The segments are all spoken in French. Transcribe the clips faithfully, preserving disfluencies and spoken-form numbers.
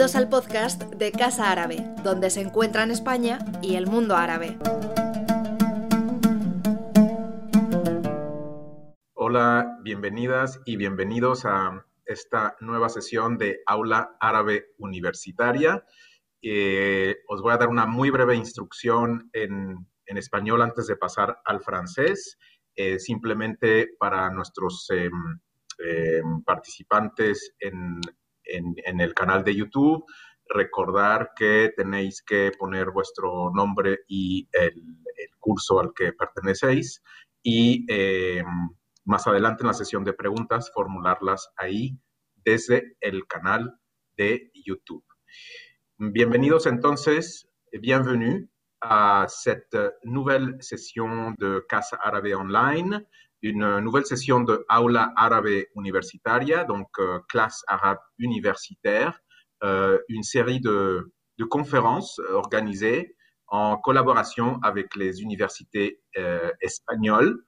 Bienvenidos al podcast de Casa Árabe, donde se encuentran España y el mundo árabe. Hola, bienvenidas y bienvenidos a esta nueva sesión de Aula Árabe Universitaria. Eh, os voy a dar una muy breve instrucción en, en español antes de pasar al francés, eh, simplemente para nuestros eh, eh, participantes en, en, en el canal de YouTube. Recordar que tenéis que poner vuestro nombre y el, el curso al que pertenecéis y eh, más adelante en la sesión de preguntas formularlas ahí desde el canal de YouTube. Bienvenidos entonces, bienvenue à cette nouvelle session de Casa Árabe Online, une nouvelle session de Aula Árabe Universitaria, donc euh, classe arabe universitaire, euh, une série de, de conférences organisées en collaboration avec les universités euh, espagnoles.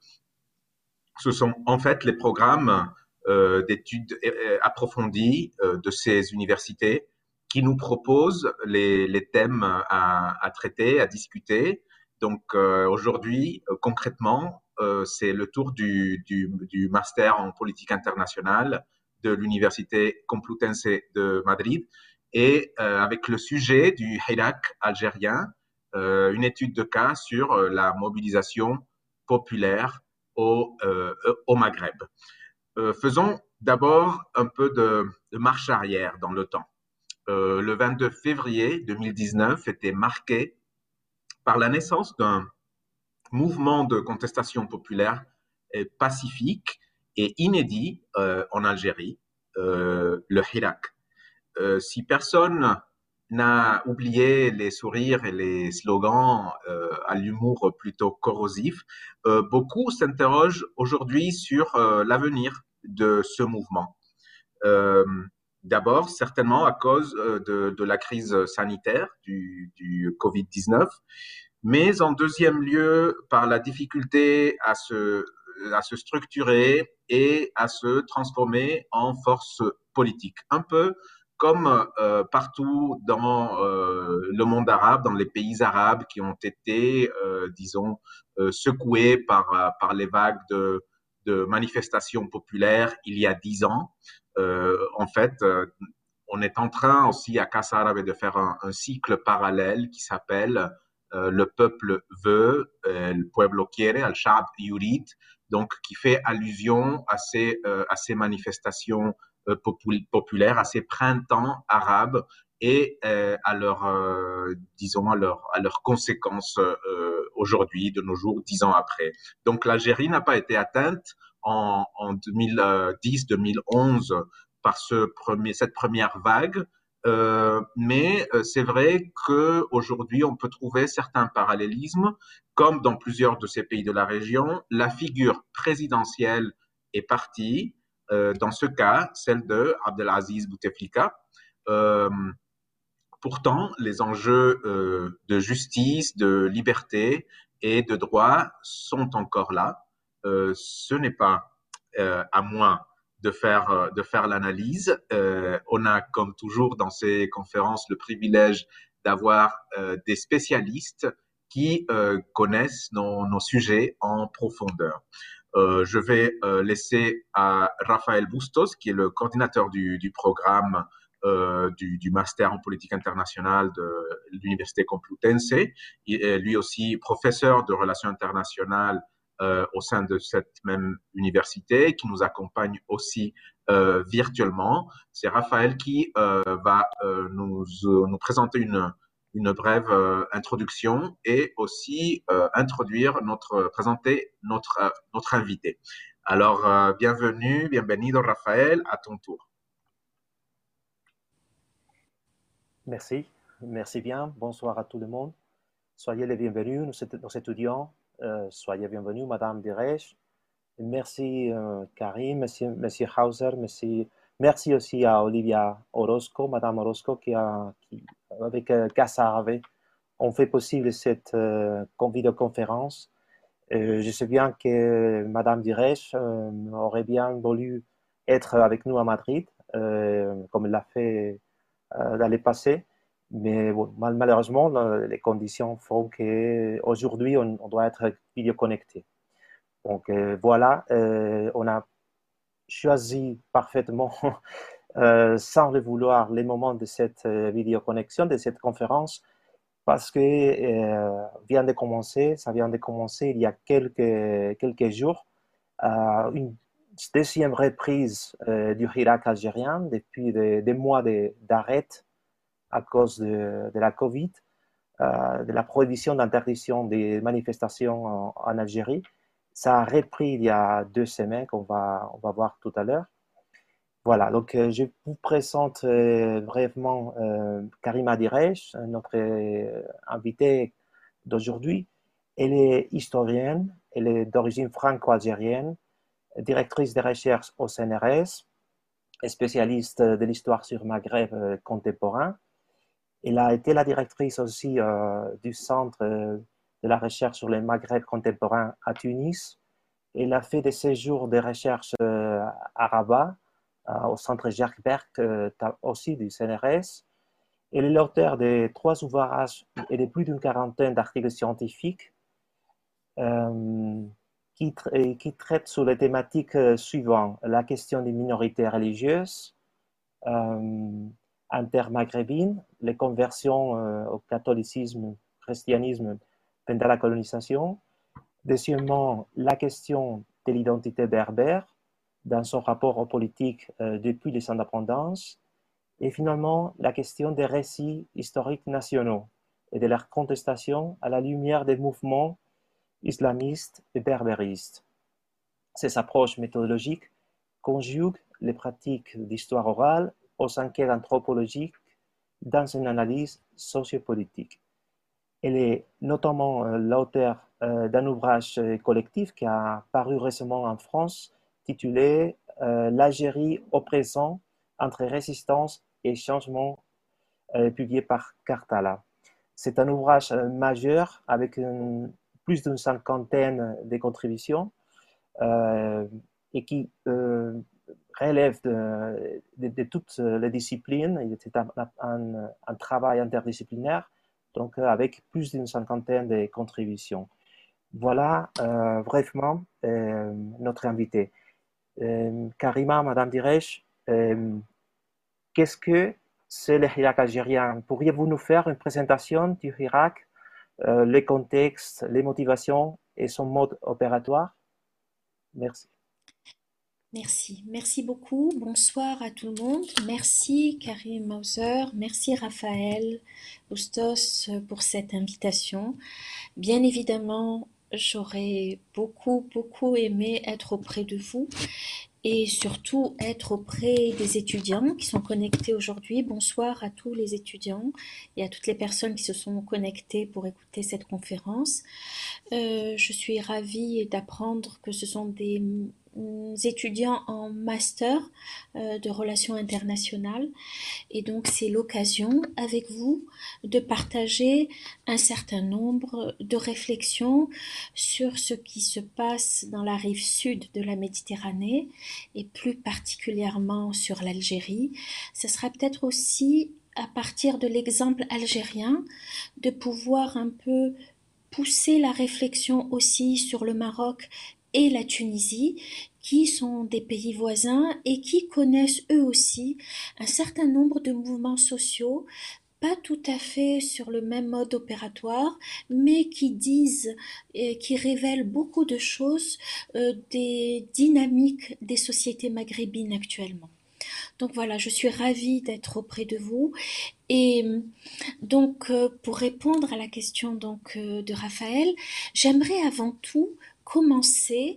Ce sont en fait les programmes euh, d'études euh, approfondies euh, de ces universités qui nous proposent les, les thèmes à, à traiter, à discuter. Donc euh, aujourd'hui, euh, concrètement, euh, c'est le tour du, du, du master en politique internationale de l'Université Complutense de Madrid et euh, avec le sujet du Hirak algérien, euh, une étude de cas sur euh, la mobilisation populaire au, euh, au Maghreb. Euh, faisons d'abord un peu de, de marche arrière dans le temps. Euh, le vingt-deux février deux mille dix-neuf était marqué par la naissance d'un mouvement de contestation populaire et pacifique et inédit euh, en Algérie, euh, le Hirak. Euh, si personne n'a oublié les sourires et les slogans euh, à l'humour plutôt corrosif, euh, beaucoup s'interrogent aujourd'hui sur euh, l'avenir de ce mouvement. Euh, D'abord, certainement à cause de, de la crise sanitaire du, du covid dix-neuf, mais en deuxième lieu, par la difficulté à se, à se structurer et à se transformer en force politique. Un peu comme euh, partout dans euh, le monde arabe, dans les pays arabes qui ont été, euh, disons, euh, secoués par, par les vagues de, de manifestations populaires il y a dix ans. Euh, en fait, euh, on est en train aussi à Casa Árabe de faire un, un cycle parallèle qui s'appelle euh, Le peuple veut, euh, le pueblo quiere, al-Sha'b yurid, donc qui fait allusion à ces, euh, à ces manifestations euh, popul populaires, à ces printemps arabes et euh, à leurs, euh, disons, à leurs à leurs conséquences euh, aujourd'hui, de nos jours, dix ans après. Donc l'Algérie n'a pas été atteinte en, en deux mille dix deux mille onze par ce premier, cette première vague, euh, mais euh, c'est vrai qu'aujourd'hui on peut trouver certains parallélismes, comme dans plusieurs de ces pays de la région, la figure présidentielle est partie, euh, dans ce cas, celle de Abdelaziz Bouteflika. Euh, Pourtant, les enjeux euh, de justice, de liberté et de droit sont encore là. Euh, ce n'est pas euh, à moi de faire, de faire l'analyse. Euh, on a, comme toujours dans ces conférences, le privilège d'avoir euh, des spécialistes qui euh, connaissent nos, nos sujets en profondeur. Euh, je vais euh, laisser à Raphaël Bustos, qui est le coordinateur du, du programme euh, du, du master en politique internationale de l'Université Complutense, il est lui aussi professeur de relations internationales euh, au sein de cette même université, qui nous accompagne aussi euh, virtuellement. C'est Raphaël qui euh, va euh, nous, nous présenter une, une brève euh, introduction et aussi euh, introduire notre, présenter notre, euh, notre invité. Alors, euh, bienvenue, bienvenido Raphaël, à ton tour. Merci, merci bien. Bonsoir à tout le monde. Soyez les bienvenus, nos, nos étudiants. Euh, soyez bienvenus, Madame Diresh. Merci, euh, Karim, Monsieur, Monsieur Hauser. Merci, merci aussi à Olivia Orozco, Madame Orozco, qui a, qui, avec euh, Casa Árabe, on fait possible cette euh, vidéoconférence. Euh, je sais bien que Madame Diresh euh, aurait bien voulu être avec nous à Madrid, euh, comme elle l'a fait euh, dans le passé. Mais bon, mal, malheureusement, les conditions font qu'aujourd'hui, on, on doit être vidéo connecté. Donc euh, voilà, euh, on a choisi parfaitement, euh, sans le vouloir, les moments de cette euh, vidéoconnexion, de cette conférence, parce que euh, vient de commencer, ça vient de commencer il y a quelques, quelques jours, euh, une deuxième reprise euh, du Hirak algérien depuis des, des mois d'arrêt à cause de, de la Covid, euh, de la prohibition d'interdiction des manifestations en, en Algérie. Ça a repris il y a deux semaines qu'on va, on va voir tout à l'heure. Voilà, donc euh, je vous présente euh, brièvement euh, Karima Diresh, notre euh, invitée d'aujourd'hui. Elle est historienne, elle est d'origine franco-algérienne, directrice de recherche au C N R S, spécialiste de l'histoire sur Maghreb euh, contemporain. Elle a été la directrice aussi euh, du Centre euh, de la recherche sur le Maghreb contemporain à Tunis. Elle a fait des séjours de recherche euh, à Rabat, euh, au Centre Jacques Berck, euh, aussi du C N R S. Elle est l'auteur de trois ouvrages et de plus d'une quarantaine d'articles scientifiques euh, qui, tra qui traitent sur les thématiques euh, suivantes: la question des minorités religieuses, euh, intermaghrébine, les conversions euh, au catholicisme, christianisme pendant la colonisation. Deuxièmement, la question de l'identité berbère dans son rapport aux politiques euh, depuis les indépendances. Et finalement, la question des récits historiques nationaux et de leur contestation à la lumière des mouvements islamistes et berbéristes. Ces approches méthodologiques conjuguent les pratiques d'histoire orale aux enquêtes anthropologiques dans une analyse sociopolitique. Elle est notamment euh, l'auteur euh, d'un ouvrage euh, collectif qui a paru récemment en France, titulé euh, L'Algérie au présent, entre résistance et changement, euh, publié par Cartala. C'est un ouvrage euh, majeur avec une, plus d'une cinquantaine de contributions euh, et qui euh, relève de, de, de, toutes les disciplines. C'est un, un, un travail interdisciplinaire, donc avec plus d'une cinquantaine de contributions. Voilà euh, brièvement euh, notre invité. Euh, Karima, Madame Diresh, euh, qu'est-ce que c'est le Hirak algérien? Pourriez-vous nous faire une présentation du Hirak, euh, les contextes, les motivations et son mode opératoire? Merci. Merci, merci beaucoup. Bonsoir à tout le monde. Merci Karim Mauser, merci Raphaël Bustos pour cette invitation. Bien évidemment, j'aurais beaucoup, beaucoup aimé être auprès de vous et surtout être auprès des étudiants qui sont connectés aujourd'hui. Bonsoir à tous les étudiants et à toutes les personnes qui se sont connectées pour écouter cette conférence. Euh, je suis ravie d'apprendre que ce sont des étudiants en master euh, de relations internationales et donc c'est l'occasion avec vous de partager un certain nombre de réflexions sur ce qui se passe dans la rive sud de la Méditerranée et plus particulièrement sur l'Algérie. Ce sera peut-être aussi à partir de l'exemple algérien de pouvoir un peu pousser la réflexion aussi sur le Maroc et la Tunisie, qui sont des pays voisins et qui connaissent eux aussi un certain nombre de mouvements sociaux, pas tout à fait sur le même mode opératoire, mais qui disent et qui révèlent beaucoup de choses euh, des dynamiques des sociétés maghrébines actuellement. Donc voilà, je suis ravie d'être auprès de vous. Et donc, euh, pour répondre à la question donc, euh, de Raphaël, j'aimerais avant tout commencer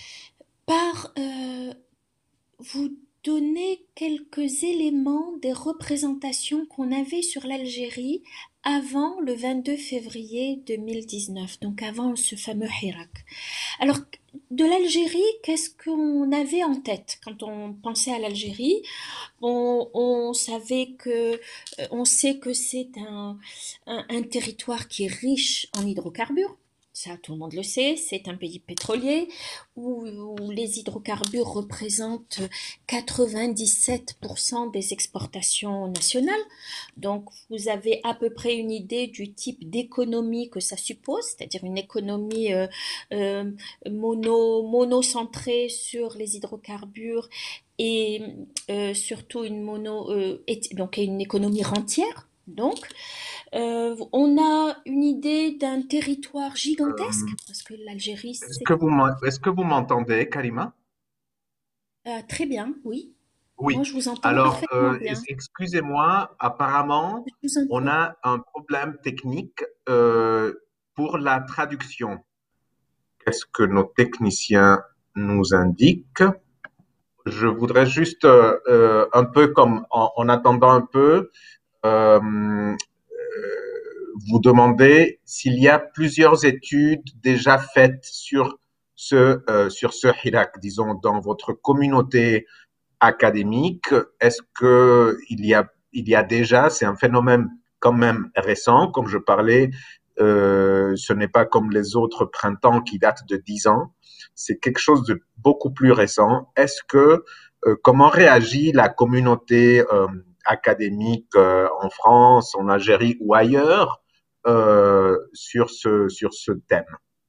par euh, vous donner quelques éléments des représentations qu'on avait sur l'Algérie avant le vingt-deux février deux mille dix-neuf, donc avant ce fameux Hirak. Alors, de l'Algérie, qu'est-ce qu'on avait en tête quand on pensait à l'Algérie? On, on savait que, on sait que c'est un, un, un territoire qui est riche en hydrocarbures. Ça, tout le monde le sait, c'est un pays pétrolier où, où les hydrocarbures représentent quatre-vingt-dix-sept pour cent des exportations nationales. Donc, vous avez à peu près une idée du type d'économie que ça suppose, c'est-à-dire une économie euh, euh, mono, monocentrée sur les hydrocarbures et euh, surtout une mono, euh, et, donc une économie rentière. Donc, euh, on a une idée d'un territoire gigantesque, Euh, parce que l'Algérie, est-ce c'est que vous m'en- est-ce que vous m'entendez, Karima? euh, très bien, oui. Moi, Oui. je vous entends Alors, parfaitement euh, bien. ex- excusez-moi, apparemment, Je vous en on prie. a un problème technique euh, pour la traduction. Qu'est-ce que nos techniciens nous indiquent? Je voudrais juste euh, euh, un peu comme en, en attendant un peu, euh, euh, vous demander s'il y a plusieurs études déjà faites sur ce, euh, sur ce Hirak, disons, dans votre communauté académique. Est-ce que il y a, il y a déjà, c'est un phénomène quand même récent, comme je parlais, euh, ce n'est pas comme les autres printemps qui datent de dix ans, c'est quelque chose de beaucoup plus récent. Est-ce que, euh, comment réagit la communauté euh, académique euh, en France, en Algérie ou ailleurs euh, sur ce, sur ce thème?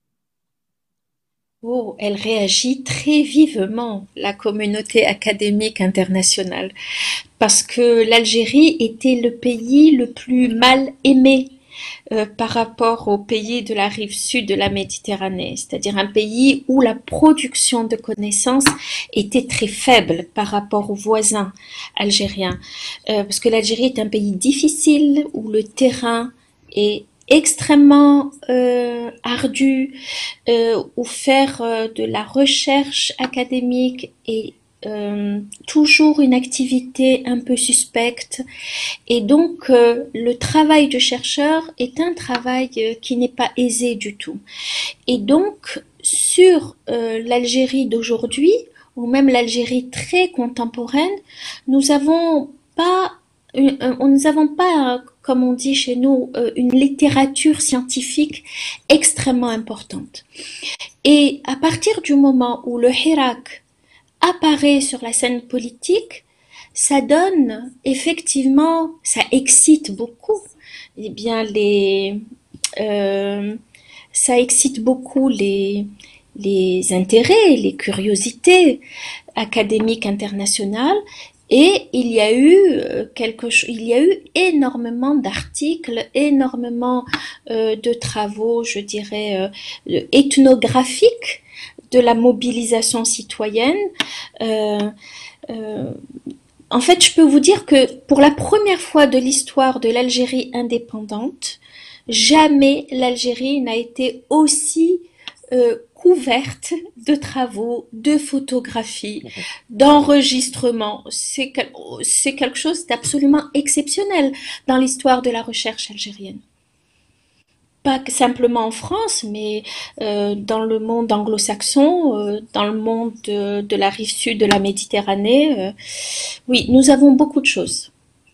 Oh, elle réagit très vivement, la communauté académique internationale, parce que l'Algérie était le pays le plus mal aimé euh, par rapport aux pays de la rive sud de la Méditerranée, c'est-à-dire un pays où la production de connaissances était très faible par rapport aux voisins algériens, euh, parce que l'Algérie est un pays difficile où le terrain est extrêmement euh, ardu, euh, où faire euh, de la recherche académique est euh, toujours une activité un peu suspecte. Et donc, euh, le travail de chercheur est un travail euh, qui n'est pas aisé du tout. Et donc, sur euh, l'Algérie d'aujourd'hui, ou même l'Algérie très contemporaine, nous avons pas, une, un, nous avons pas, comme on dit chez nous, euh, une littérature scientifique extrêmement importante. Et à partir du moment où le Hirak apparaît sur la scène politique, ça donne effectivement, ça excite beaucoup. Eh bien, les, euh, ça excite beaucoup les, les intérêts, les curiosités académiques internationales. Et il y a eu quelque chose, il y a eu énormément d'articles, énormément euh, de travaux, je dirais, euh, ethnographiques de la mobilisation citoyenne. Euh, euh, en fait, je peux vous dire que pour la première fois de l'histoire de l'Algérie indépendante, jamais l'Algérie n'a été aussi euh, couverte de travaux, de photographies, d'enregistrements. C'est, c'est quelque chose d'absolument exceptionnel dans l'histoire de la recherche algérienne. Pas simplement en France, mais euh, dans le monde anglo-saxon, euh, dans le monde de, de la rive sud de la Méditerranée. Euh, oui, nous avons beaucoup de choses.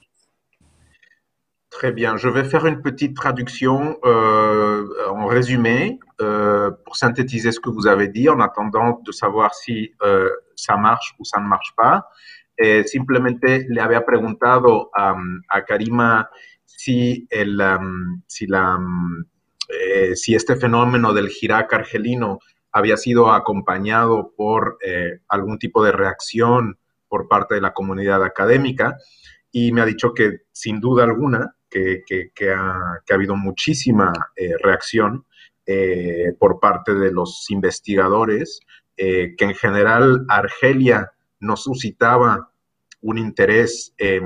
Très bien. Je vais faire une petite traduction euh, en résumé euh, pour synthétiser ce que vous avez dit en attendant de savoir si euh, ça marche ou ça ne marche pas. Eh, simplemente le había preguntado um, a Karima si, el, um, si, la, um, eh, si este fenómeno del Hirak argelino había sido acompañado por eh, algún tipo de reacción por parte de la comunidad académica y me ha dicho que sin duda alguna que, que, que, ha, que ha, habido muchísima eh, reacción eh, por parte de los investigadores, eh, que en general Argelia no suscitaba un interés, eh,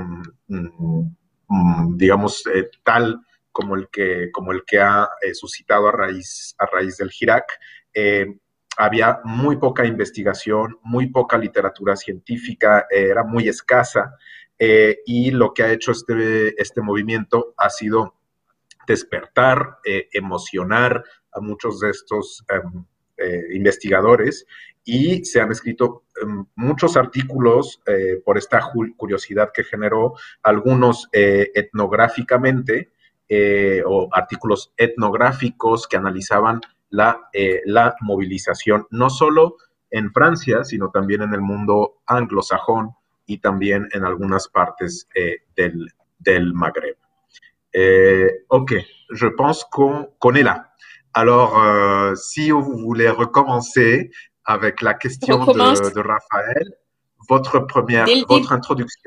digamos, eh, tal como el que, como el que ha eh, suscitado a raíz, a raíz del Hirak. Eh, había muy poca investigación, muy poca literatura científica, eh, era muy escasa, eh, y lo que ha hecho este, este movimiento ha sido despertar, eh, emocionar a muchos de estos um, eh, investigadores y se han escrito um, muchos artículos eh, por esta curiosidad que generó, algunos eh, etnográficamente eh, o artículos etnográficos que analizaban la, eh, la movilización, no solo en Francia, sino también en el mundo anglosajón y también en algunas partes eh, del, del Maghreb. Eh, ok, je pense qu'on qu'on est là. Alors, euh, si vous voulez recommencer avec la question de, de Raphaël, votre première, votre introduction.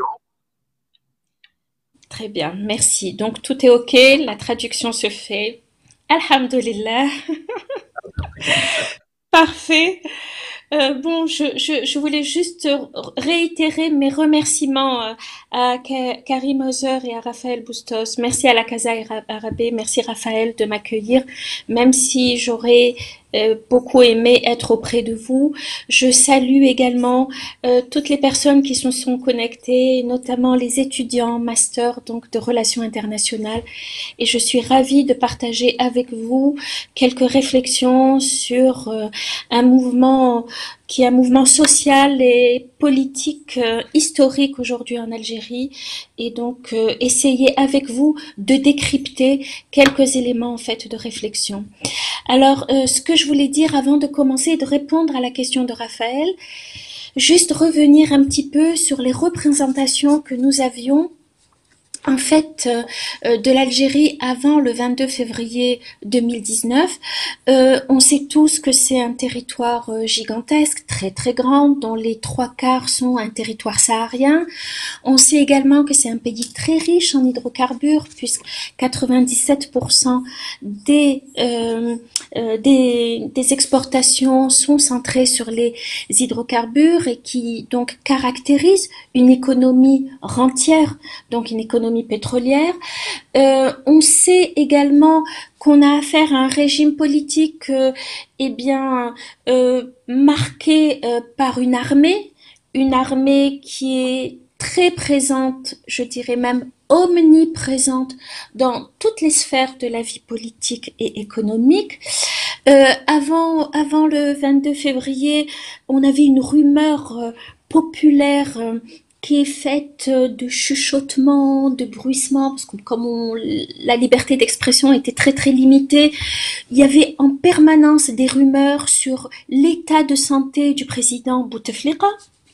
Très bien, merci. Donc, tout est OK, la traduction se fait. Alhamdulillah. Parfait. Euh, bon, je, je, je voulais juste réitérer mes remerciements euh, à Karim Hauser et à Raphaël Bustos. Merci à la Casa Arabe, merci Raphaël de m'accueillir, même si j'aurais euh, beaucoup aimé être auprès de vous. Je salue également euh, toutes les personnes qui se sont connectées, notamment les étudiants master donc de relations internationales. Et je suis ravie de partager avec vous quelques réflexions sur euh, un mouvement qui est un mouvement social et politique euh, historique aujourd'hui en Algérie, et donc euh, essayer avec vous de décrypter quelques éléments en fait de réflexion. Alors, euh, ce que je voulais dire avant de commencer et de répondre à la question de Raphaël, juste revenir un petit peu sur les représentations que nous avions en fait, euh, de l'Algérie avant le vingt-deux février deux mille dix-neuf. Euh, on sait tous que c'est un territoire euh, gigantesque, très très grand, dont les trois quarts sont un territoire saharien. On sait également que c'est un pays très riche en hydrocarbures, puisque quatre-vingt-dix-sept pour cent des, euh, euh, des, des exportations sont centrées sur les hydrocarbures et qui donc caractérisent une économie rentière, donc une économie pétrolière. Euh, on sait également qu'on a affaire à un régime politique euh, eh bien euh, marqué euh, par une armée, une armée qui est très présente, je dirais même omniprésente dans toutes les sphères de la vie politique et économique. Euh, avant, avant le vingt-deux février, on avait une rumeur euh, populaire euh, qui est faite de chuchotements, de bruissements, parce que comme on, la liberté d'expression était très très limitée, il y avait en permanence des rumeurs sur l'état de santé du président Bouteflika,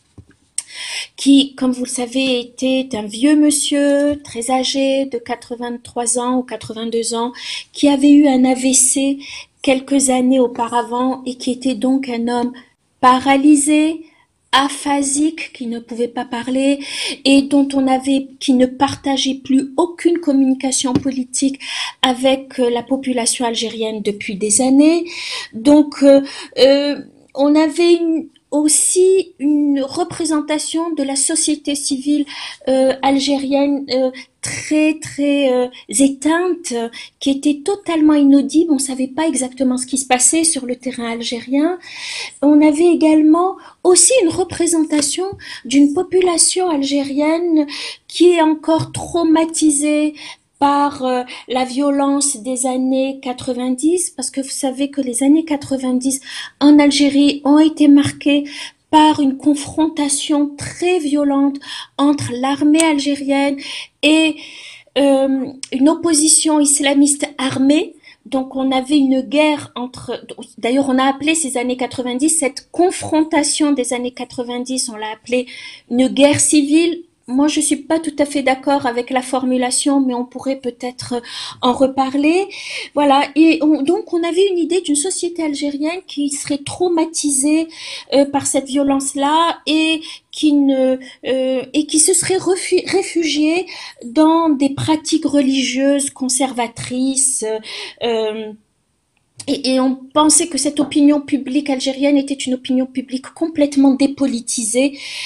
qui, comme vous le savez, était un vieux monsieur, très âgé, de quatre-vingt-trois ans ou quatre-vingt-deux ans, qui avait eu un A V C quelques années auparavant et qui était donc un homme paralysé, aphasique, qui ne pouvait pas parler et dont on avait, qui ne partageait plus aucune communication politique avec la population algérienne depuis des années. Donc, euh, euh, on avait une, aussi une représentation de la société civile euh, algérienne euh, très très euh, éteinte, euh, qui était totalement inaudible. On savait pas exactement ce qui se passait sur le terrain algérien. On avait également aussi une représentation d'une population algérienne qui est encore traumatisée par euh, la violence des années quatre-vingt-dix, parce que vous savez que les années quatre-vingt-dix en Algérie ont été marquées par une confrontation très violente entre l'armée algérienne et euh, une opposition islamiste armée. Donc on avait une guerre entre, d'ailleurs on a appelé ces années quatre-vingt-dix, cette confrontation des années quatre-vingt-dix, on l'a appelée une guerre civile. Moi, je suis pas tout à fait d'accord avec la formulation, mais on pourrait peut-être en reparler. Voilà. Et on, donc, on avait une idée d'une société algérienne qui serait traumatisée euh, par cette violence-là et qui ne euh, et qui se serait refu- réfugiée dans des pratiques religieuses conservatrices. Euh, Et, et on pensait que cette opinion publique algérienne était une opinion publique complètement dépolitisée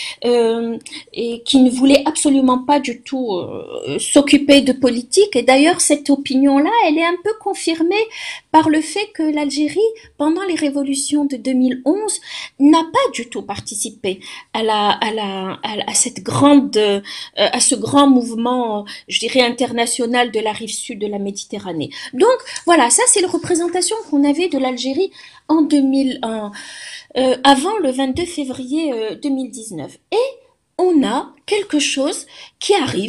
euh, et qui ne voulait absolument pas du tout euh, s'occuper de politique. Et d'ailleurs, cette opinion-là, elle est un peu confirmée par le fait que l'Algérie, pendant les révolutions de deux mille onze, n'a pas du tout participé à la à la à, à cette grande euh, à ce grand mouvement, je dirais international de la rive sud de la Méditerranée. Donc voilà, ça c'est la représentation qu'on avait de l'Algérie en deux mille un, euh, avant le vingt-deux février euh, deux mille dix-neuf. Et on a quelque chose qui arrive,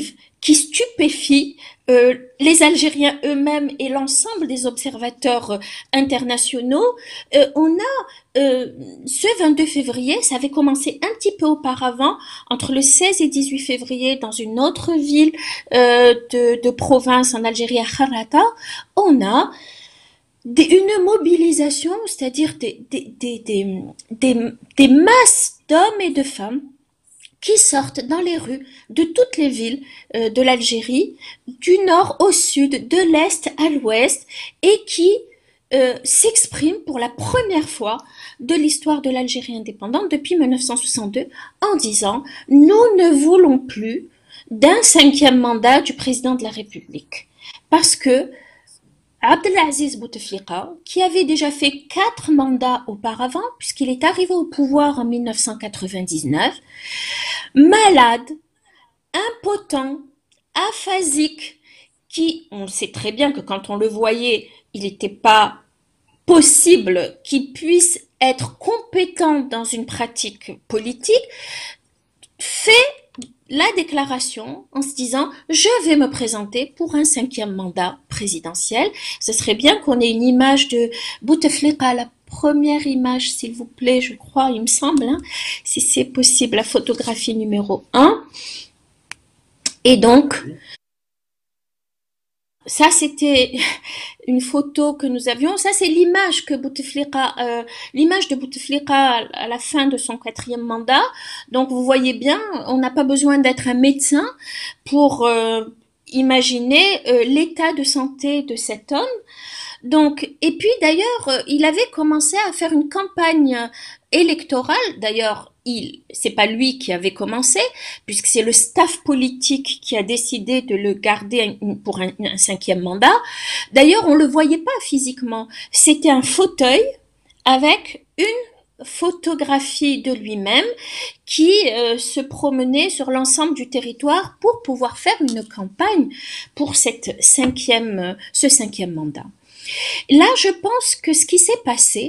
qui stupéfie euh, les Algériens eux-mêmes et l'ensemble des observateurs euh, internationaux. Euh, on a euh, ce vingt-deux février, ça avait commencé un petit peu auparavant, entre le seize et dix-huit février, dans une autre ville euh, de, de province en Algérie, à Kharrata, on a des, une mobilisation, c'est-à-dire des, des, des, des, des, des masses d'hommes et de femmes qui sortent dans les rues de toutes les villes euh, de l'Algérie, du nord au sud, de l'est à l'ouest, et qui euh, s'expriment pour la première fois de l'histoire de l'Algérie indépendante depuis mille neuf cent soixante-deux en disant « Nous ne voulons plus d'un cinquième mandat du président de la République. » Parce que Abdelaziz Bouteflika, qui avait déjà fait quatre mandats auparavant, puisqu'il est arrivé au pouvoir en mille neuf cent quatre-vingt-dix-neuf, malade, impotent, aphasique, qui, on sait très bien que quand on le voyait, il n'était pas possible qu'il puisse être compétent dans une pratique politique, fait la déclaration en se disant « Je vais me présenter pour un cinquième mandat présidentiel ». Ce serait bien qu'on ait une image de Bouteflika, la première image, s'il vous plaît, je crois, il me semble, hein, si c'est possible, la photographie numéro un. Et donc, ça, c'était une photo que nous avions. Ça, c'est l'image que Bouteflika, euh, l'image de Bouteflika à la fin de son quatrième mandat. Donc, vous voyez bien, on n'a pas besoin d'être un médecin pour euh, imaginer euh, l'état de santé de cet homme. Donc, et puis d'ailleurs, euh, il avait commencé à faire une campagne électorale. D'ailleurs, il, c'est pas lui qui avait commencé, puisque c'est le staff politique qui a décidé de le garder pour un, un cinquième mandat. D'ailleurs, on le voyait pas physiquement. C'était un fauteuil avec une photographie de lui-même qui euh, se promenait sur l'ensemble du territoire pour pouvoir faire une campagne pour cette cinquième, ce cinquième mandat. Là, je pense que ce qui s'est passé,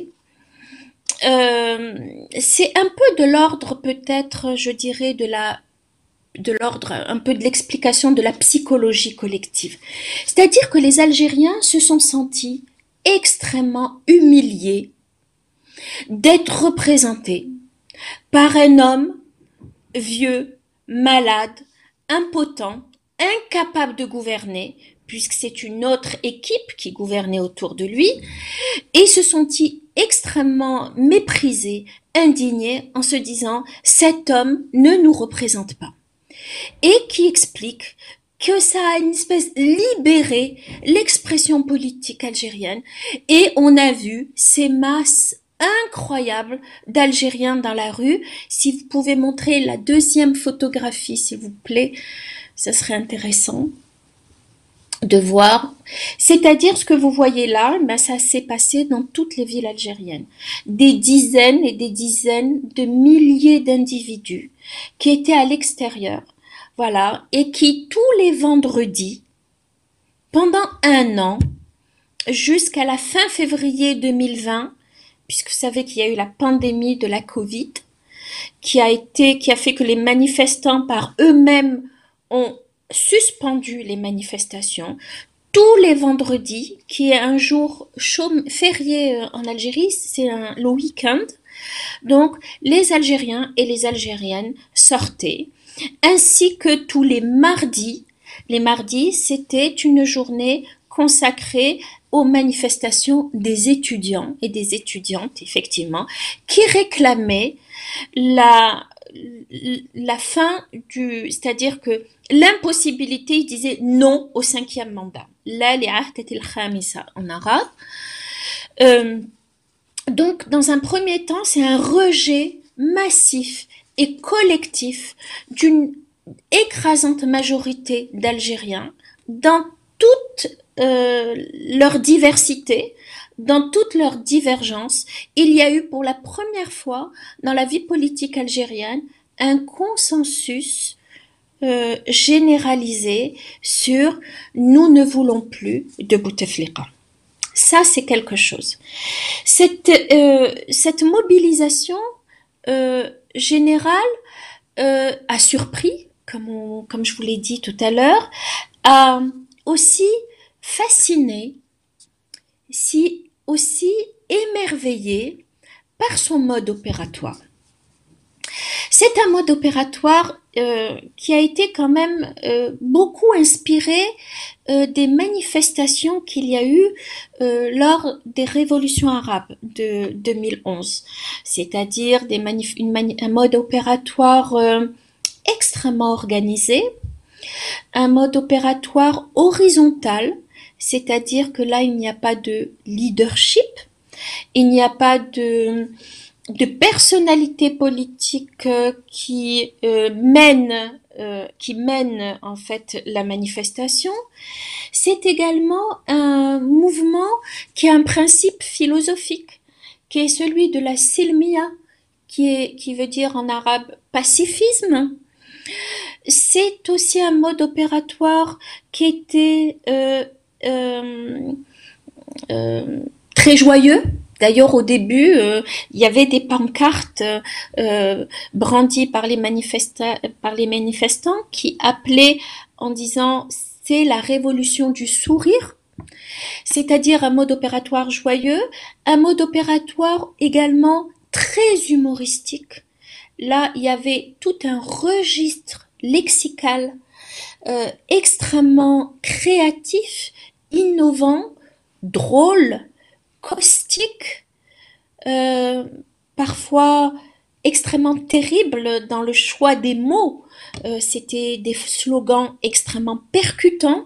euh, c'est un peu de l'ordre peut-être, je dirais, de la de l'ordre un peu de l'explication de la psychologie collective. C'est-à-dire que les Algériens se sont sentis extrêmement humiliés d'être représentés par un homme vieux, malade, impotent, incapable de gouverner, puisque c'est une autre équipe qui gouvernait autour de lui, et se sentit extrêmement méprisés, indignés, en se disant « cet homme ne nous représente pas ». Et qui explique que ça a une espèce libéré l'expression politique algérienne, et on a vu ces masses incroyables d'Algériens dans la rue. Si vous pouvez montrer la deuxième photographie, s'il vous plaît, ça serait intéressant de voir. C'est-à-dire ce que vous voyez là, ben ça s'est passé dans toutes les villes algériennes. Des dizaines et des dizaines de milliers d'individus qui étaient à l'extérieur, voilà, et qui tous les vendredis, pendant un an, jusqu'à la fin février deux mille vingt, puisque vous savez qu'il y a eu la pandémie de la Covid, qui a été, qui a fait que les manifestants par eux-mêmes ont suspendu les manifestations tous les vendredis, qui est un jour chôme, férié en Algérie, c'est un, le week-end. Donc, les Algériens et les Algériennes sortaient, ainsi que tous les mardis. Les mardis, c'était une journée consacrée aux manifestations des étudiants et des étudiantes, effectivement, qui réclamaient la, la fin du, c'est-à-dire que l'impossibilité, ils disaient non au cinquième mandat. La li'ahdat al-khamisa en arabe. Euh, donc, dans un premier temps, c'est un rejet massif et collectif d'une écrasante majorité d'Algériens dans toute euh, leur diversité, dans toute leur divergence. Il y a eu pour la première fois dans la vie politique algérienne un consensus euh, généralisé sur « nous ne voulons plus de Bouteflika ». Ça, c'est quelque chose. Cette, euh, cette mobilisation euh, générale euh, a surpris comme, on, comme je vous l'ai dit tout à l'heure, a aussi fasciné, si aussi émerveillé par son mode opératoire. C'est un mode opératoire euh, qui a été quand même euh, beaucoup inspiré euh, des manifestations qu'il y a eu euh, lors des révolutions arabes de deux mille onze, c'est-à-dire des manif- une mani- un mode opératoire euh, extrêmement organisé, un mode opératoire horizontal, c'est-à-dire que là il n'y a pas de leadership, il n'y a pas de de personnalités politiques euh, qui euh, mènent euh, qui mènent en fait la manifestation. C'est également un mouvement qui a un principe philosophique, qui est celui de la silmiya, qui est qui veut dire en arabe pacifisme. C'est aussi un mode opératoire qui était euh, euh, euh, très joyeux. D'ailleurs, au début, euh, il y avait des pancartes euh, brandies par les, manifesta- par les manifestants qui appelaient en disant « c'est la révolution du sourire », c'est-à-dire un mode opératoire joyeux, un mode opératoire également très humoristique. Là, il y avait tout un registre lexical euh, extrêmement créatif, innovant, drôle, caustique, euh, parfois extrêmement terrible dans le choix des mots. Euh, c'était des slogans extrêmement percutants.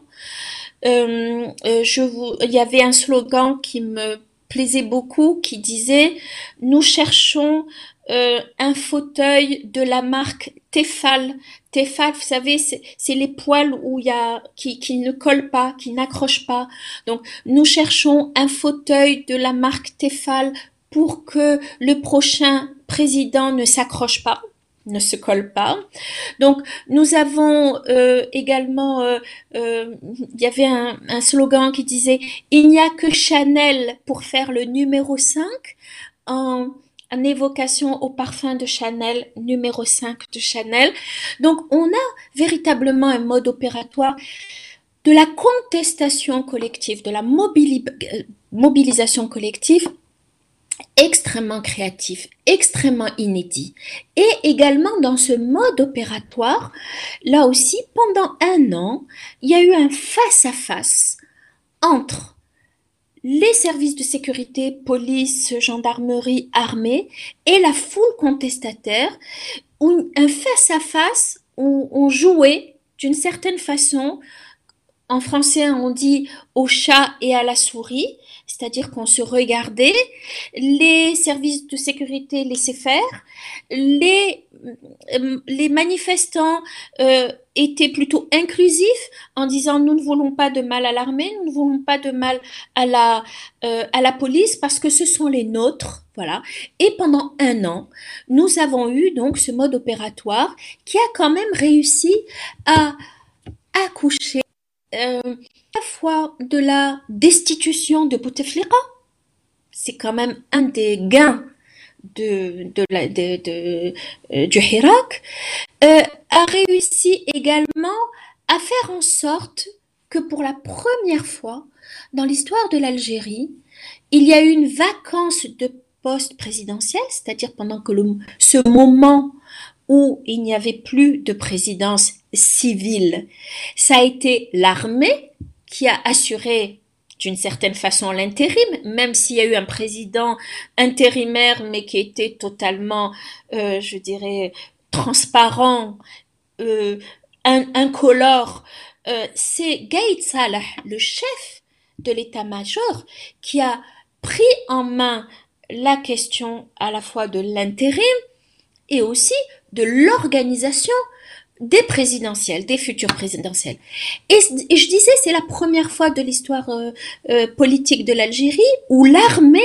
Euh, euh, je vous, il y avait un slogan qui me plaisait beaucoup qui disait « Nous cherchons euh, un fauteuil de la marque Tefal ». Tefal, vous savez, c'est, c'est les poils où il y a, qui, qui ne collent pas, qui n'accrochent pas. Donc, nous cherchons un fauteuil de la marque Tefal pour que le prochain président ne s'accroche pas, ne se colle pas. Donc, nous avons euh, également, euh, euh, il y avait un, un slogan qui disait « Il n'y a que Chanel pour faire le numéro cinq » en en évocation au parfum de Chanel, numéro cinq de Chanel. Donc, on a véritablement un mode opératoire de la contestation collective, de la mobili- mobilisation collective extrêmement créatif, extrêmement inédit. Et également dans ce mode opératoire, là aussi, pendant un an, il y a eu un face-à-face entre les services de sécurité, police, gendarmerie, armée, et la foule contestataire, où un face-à-face où on jouait d'une certaine façon, en français on dit au chat et à la souris, c'est-à-dire qu'on se regardait, les services de sécurité laissaient faire, les, les manifestants euh, étaient plutôt inclusifs en disant nous ne voulons pas de mal à l'armée, nous ne voulons pas de mal à la, euh, à la police parce que ce sont les nôtres, voilà. Et pendant un an, nous avons eu donc ce mode opératoire qui a quand même réussi à accoucher euh, à la fois de la destitution de Bouteflika, c'est quand même un des gains de, de la, de, de, euh, du Hirak, euh, a réussi également à faire en sorte que pour la première fois dans l'histoire de l'Algérie, il y a eu une vacance de poste présidentiel, c'est-à-dire pendant que le, ce moment où il n'y avait plus de présidence civile, ça a été l'armée qui a assuré d'une certaine façon l'intérim, même s'il y a eu un président intérimaire, mais qui était totalement, euh, je dirais, transparent, euh, in- incolore. Euh, c'est Gaïd Salah, le chef de l'état-major, qui a pris en main la question à la fois de l'intérim et aussi de l'organisation des présidentielles, des futures présidentielles. Et, et je disais, c'est la première fois de l'histoire euh, euh, politique de l'Algérie où l'armée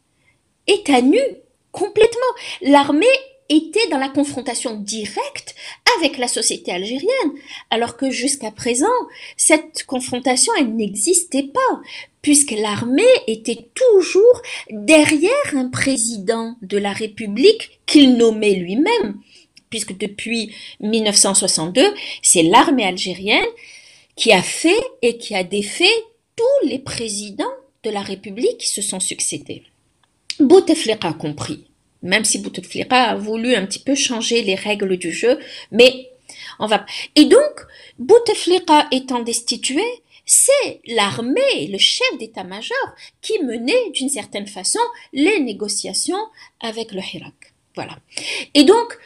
est à nu complètement. L'armée était dans la confrontation directe avec la société algérienne, alors que jusqu'à présent, cette confrontation, elle n'existait pas, puisque l'armée était toujours derrière un président de la République qu'il nommait lui-même, puisque depuis mille neuf cent soixante-deux, c'est l'armée algérienne qui a fait et qui a défait tous les présidents de la République qui se sont succédés. Bouteflika compris, même si Bouteflika a voulu un petit peu changer les règles du jeu, mais on va... Et donc, Bouteflika étant destitué, c'est l'armée, le chef d'état-major, qui menait d'une certaine façon les négociations avec le Hirak. Voilà. Et donc,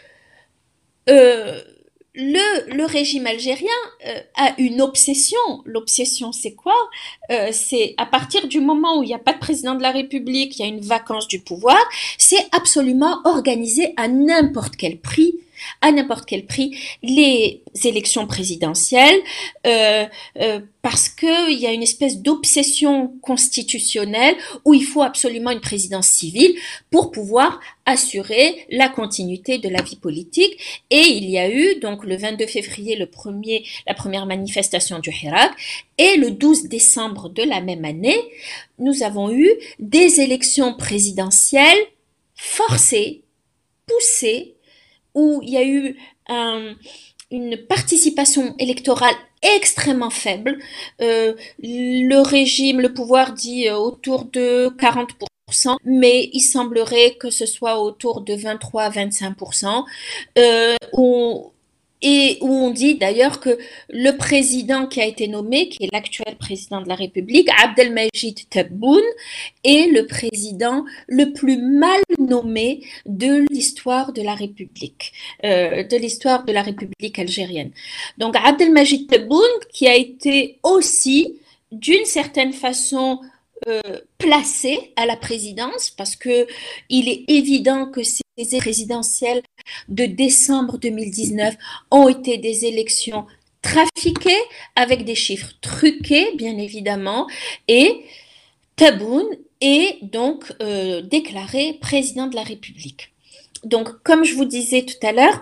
euh, le, le régime algérien euh, a une obsession. L'obsession, c'est quoi? euh, C'est à partir du moment où il n'y a pas de président de la République, il y a une vacance du pouvoir, c'est absolument organiser à n'importe quel prix à n'importe quel prix les élections présidentielles euh, euh, parce qu'il y a une espèce d'obsession constitutionnelle où il faut absolument une présidence civile pour pouvoir assurer la continuité de la vie politique. Et il y a eu donc le vingt-deux février le premier, la première manifestation du Hirak, et le douze décembre de la même année, nous avons eu des élections présidentielles forcées, poussées, où il y a eu un, une participation électorale extrêmement faible. Euh, le régime, le pouvoir dit autour de quarante pour cent, mais il semblerait que ce soit autour de vingt-trois à vingt-cinq pour cent. Euh, où, et où on dit d'ailleurs que le président qui a été nommé, qui est l'actuel président de la République, Abdelmajid Tebboune, est le président le plus mal nommé de l'histoire de la République, euh, de l'histoire de la République algérienne. Donc Abdelmajid Tebboune, qui a été aussi, d'une certaine façon, euh, placé à la présidence, parce que il est évident que ces présidentielles de décembre deux mille dix-neuf ont été des élections trafiquées avec des chiffres truqués, bien évidemment, et Tebboune est donc euh, déclaré président de la République. Donc, comme je vous disais tout à l'heure,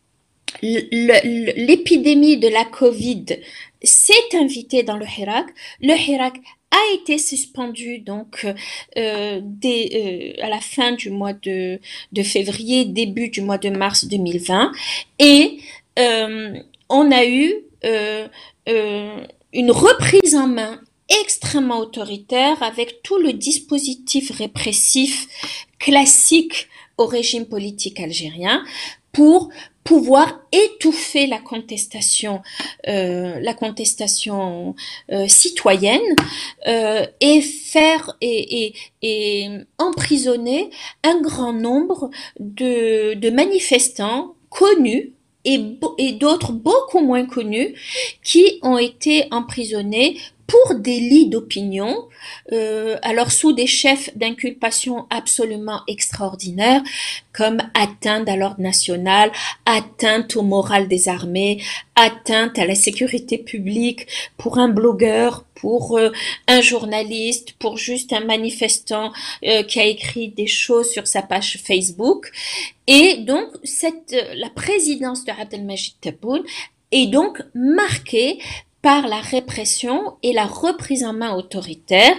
l'épidémie de la Covid s'est invitée dans le Hirak. Le Hirak a été suspendu donc euh, dès, euh, à la fin du mois de, de février, début du mois de mars deux mille vingt, et euh, on a eu euh, euh, une reprise en main extrêmement autoritaire avec tout le dispositif répressif classique au régime politique algérien pour pouvoir étouffer la contestation, euh, la contestation euh, citoyenne euh, et faire et, et, et emprisonner un grand nombre de, de manifestants connus et, et d'autres beaucoup moins connus qui ont été emprisonnés pour délit d'opinion, euh, alors sous des chefs d'inculpation absolument extraordinaires, comme atteinte à l'ordre national, atteinte au moral des armées, atteinte à la sécurité publique pour un blogueur, pour euh, un journaliste, pour juste un manifestant euh, qui a écrit des choses sur sa page Facebook. Et donc, cette, la présidence de Abdelmajid Tebboune est donc marquée par la répression et la reprise en main autoritaire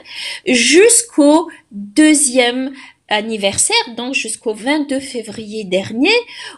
jusqu'au deuxième anniversaire, donc jusqu'au vingt-deux février dernier,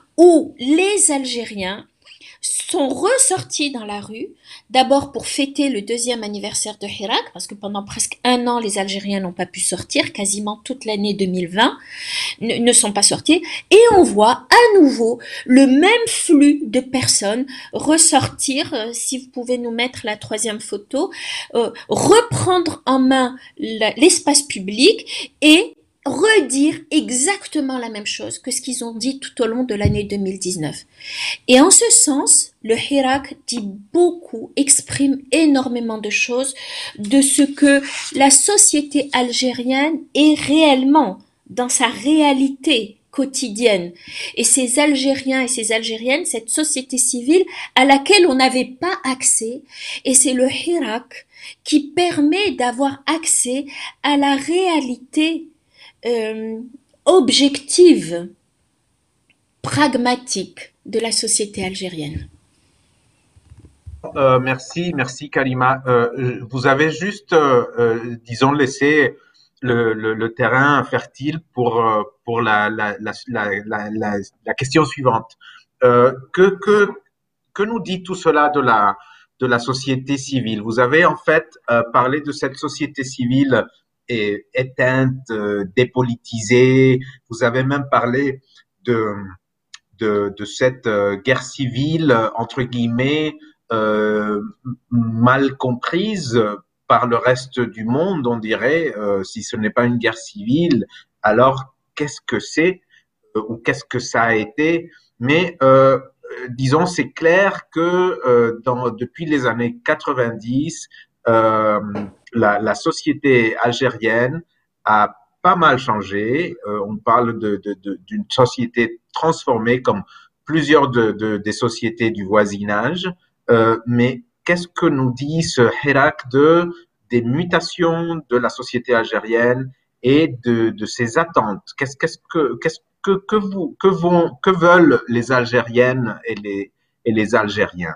où les Algériens sont ressortis dans la rue, d'abord pour fêter le deuxième anniversaire de Hirak, parce que pendant presque un an, les Algériens n'ont pas pu sortir, quasiment toute l'année deux mille vingt ne, ne sont pas sortis, et on voit à nouveau le même flux de personnes ressortir, euh, si vous pouvez nous mettre la troisième photo, euh, reprendre en main l'espace public et redire exactement la même chose que ce qu'ils ont dit tout au long de l'année deux mille dix-neuf. Et en ce sens, le Hirak dit beaucoup, exprime énormément de choses de ce que la société algérienne est réellement dans sa réalité quotidienne. Et ces Algériens et ces Algériennes, cette société civile à laquelle on n'avait pas accès, et c'est le Hirak qui permet d'avoir accès à la réalité Euh, objective, pragmatique de la société algérienne. Euh, merci, merci Karima. Euh, vous avez juste, euh, euh, disons, laissé le, le, le terrain fertile pour, pour la, la, la, la, la, la question suivante. euh, que, que, que nous dit tout cela de la, de la société civile? Vous avez en fait euh, parlé de cette société civile et, éteinte, euh, dépolitisée. Vous avez même parlé de, de, de cette euh, guerre civile, entre guillemets, euh, mal comprise par le reste du monde, on dirait. Euh, si ce n'est pas une guerre civile, alors qu'est-ce que c'est euh, ou qu'est-ce que ça a été? Mais euh, disons, c'est clair que euh, dans, depuis les années quatre-vingt-dix, euh, la, la société algérienne a pas mal changé. Euh, on parle de, de, de, d'une société transformée comme plusieurs de, de, des sociétés du voisinage. Euh, mais qu'est-ce que nous dit ce Hirak de, des mutations de la société algérienne et de, de ses attentes? Qu'est-ce, qu'est-ce que, qu'est-ce que, que, vous, que, vont, que veulent les Algériennes et les, et les Algériens?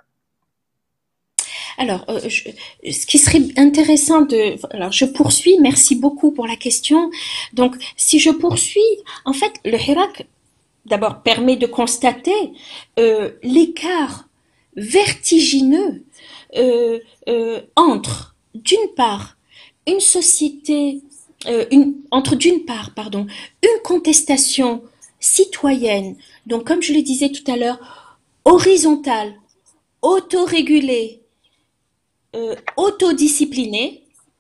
Alors, euh, je, ce qui serait intéressant de... Alors, je poursuis, merci beaucoup pour la question. Donc, si je poursuis, en fait, le Hirak, d'abord, permet de constater euh, l'écart vertigineux euh, euh, entre, d'une part, une société, euh, une, entre d'une part, pardon, une contestation citoyenne, donc comme je le disais tout à l'heure, horizontale, autorégulée, euh, autodisciplinée,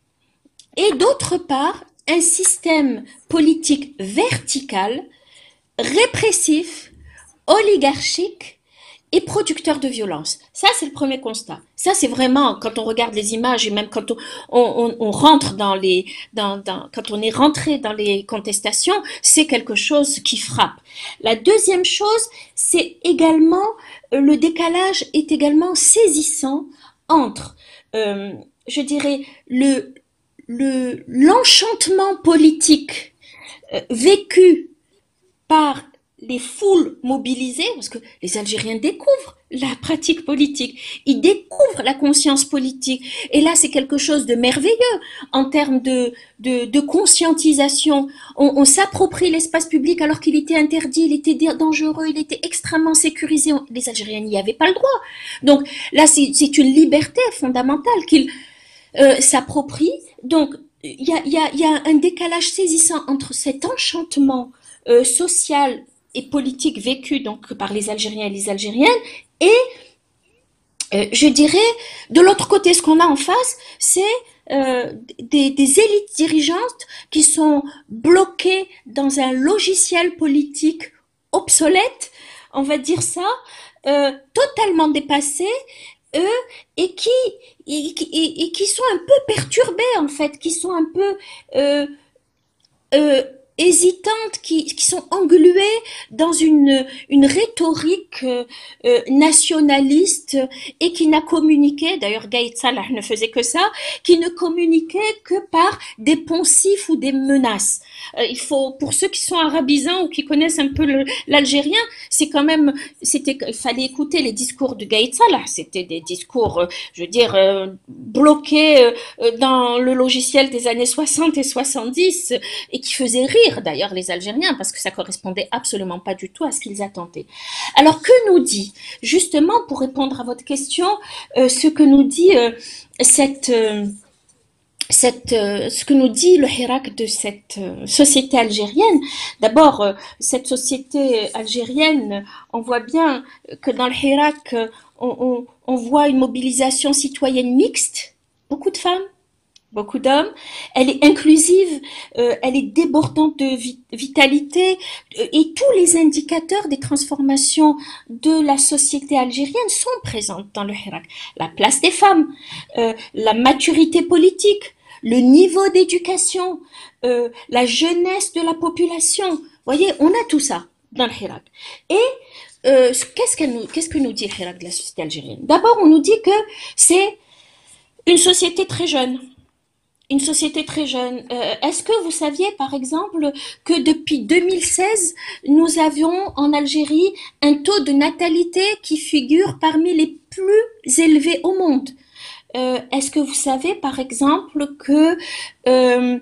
et d'autre part, un système politique vertical, répressif, oligarchique et producteur de violence. Ça, c'est le premier constat. Ça, c'est vraiment, quand on regarde les images et même quand on, on, on rentre dans les, dans, dans, quand on est rentré dans les contestations, c'est quelque chose qui frappe. La deuxième chose, c'est également, le décalage est également saisissant entre, euh, je dirais, le, le, l'enchantement politique euh, vécu par les foules mobilisées, parce que les Algériens découvrent la pratique politique, ils découvrent la conscience politique, et là c'est quelque chose de merveilleux en termes de, de, de conscientisation. On, on s'approprie l'espace public alors qu'il était interdit, il était dangereux, il était extrêmement sécurisé. Les Algériens n'y avaient pas le droit. Donc là c'est, c'est une liberté fondamentale qu'ils euh, s'approprient. Donc il y a, y, a, y a un décalage saisissant entre cet enchantement euh, social et politique vécu donc par les Algériens et les Algériennes, et euh, je dirais de l'autre côté, ce qu'on a en face, c'est euh, des, des élites dirigeantes qui sont bloquées dans un logiciel politique obsolète, on va dire ça, euh, totalement dépassé, eux, et qui et, et, et qui sont un peu perturbés en fait, qui sont un peu euh, euh, hésitantes, qui, qui sont engluées dans une, une rhétorique euh, euh, nationaliste et qui n'a communiqué, d'ailleurs Gaïd Salah ne faisait que ça, qui ne communiquait que par des poncifs ou des menaces. Euh, il faut, pour ceux qui sont arabisants ou qui connaissent un peu le, l'algérien, c'est quand même, c'était, il fallait écouter les discours de Gaïd Salah, c'était des discours, euh, je veux dire, euh, bloqués euh, dans le logiciel des années soixante et soixante-dix euh, et qui faisaient rire d'ailleurs les Algériens parce que ça correspondait absolument pas du tout à ce qu'ils attendaient. Alors que nous dit, justement pour répondre à votre question, euh, ce que nous dit euh, cette, euh, cette, euh, ce que nous dit le Hirak de cette euh, société algérienne. D'abord, euh, cette société algérienne, on voit bien que dans le Hirak, euh, on, on, on voit une mobilisation citoyenne mixte, beaucoup de femmes, beaucoup d'hommes, elle est inclusive, euh, elle est débordante de vi- vitalité euh, et tous les indicateurs des transformations de la société algérienne sont présents dans le Hirak. La place des femmes, euh, la maturité politique, le niveau d'éducation, euh, la jeunesse de la population. Vous voyez, on a tout ça dans le Hirak. Et euh, qu'est-ce, qu'elle nous, qu'est-ce que nous dit le Hirak de la société algérienne? D'abord, on nous dit que c'est une société très jeune. Une société très jeune. Euh, est-ce que vous saviez, par exemple, que depuis deux mille seize, nous avions en Algérie un taux de natalité qui figure parmi les plus élevés au monde? Euh, est-ce que vous savez, par exemple, que euh,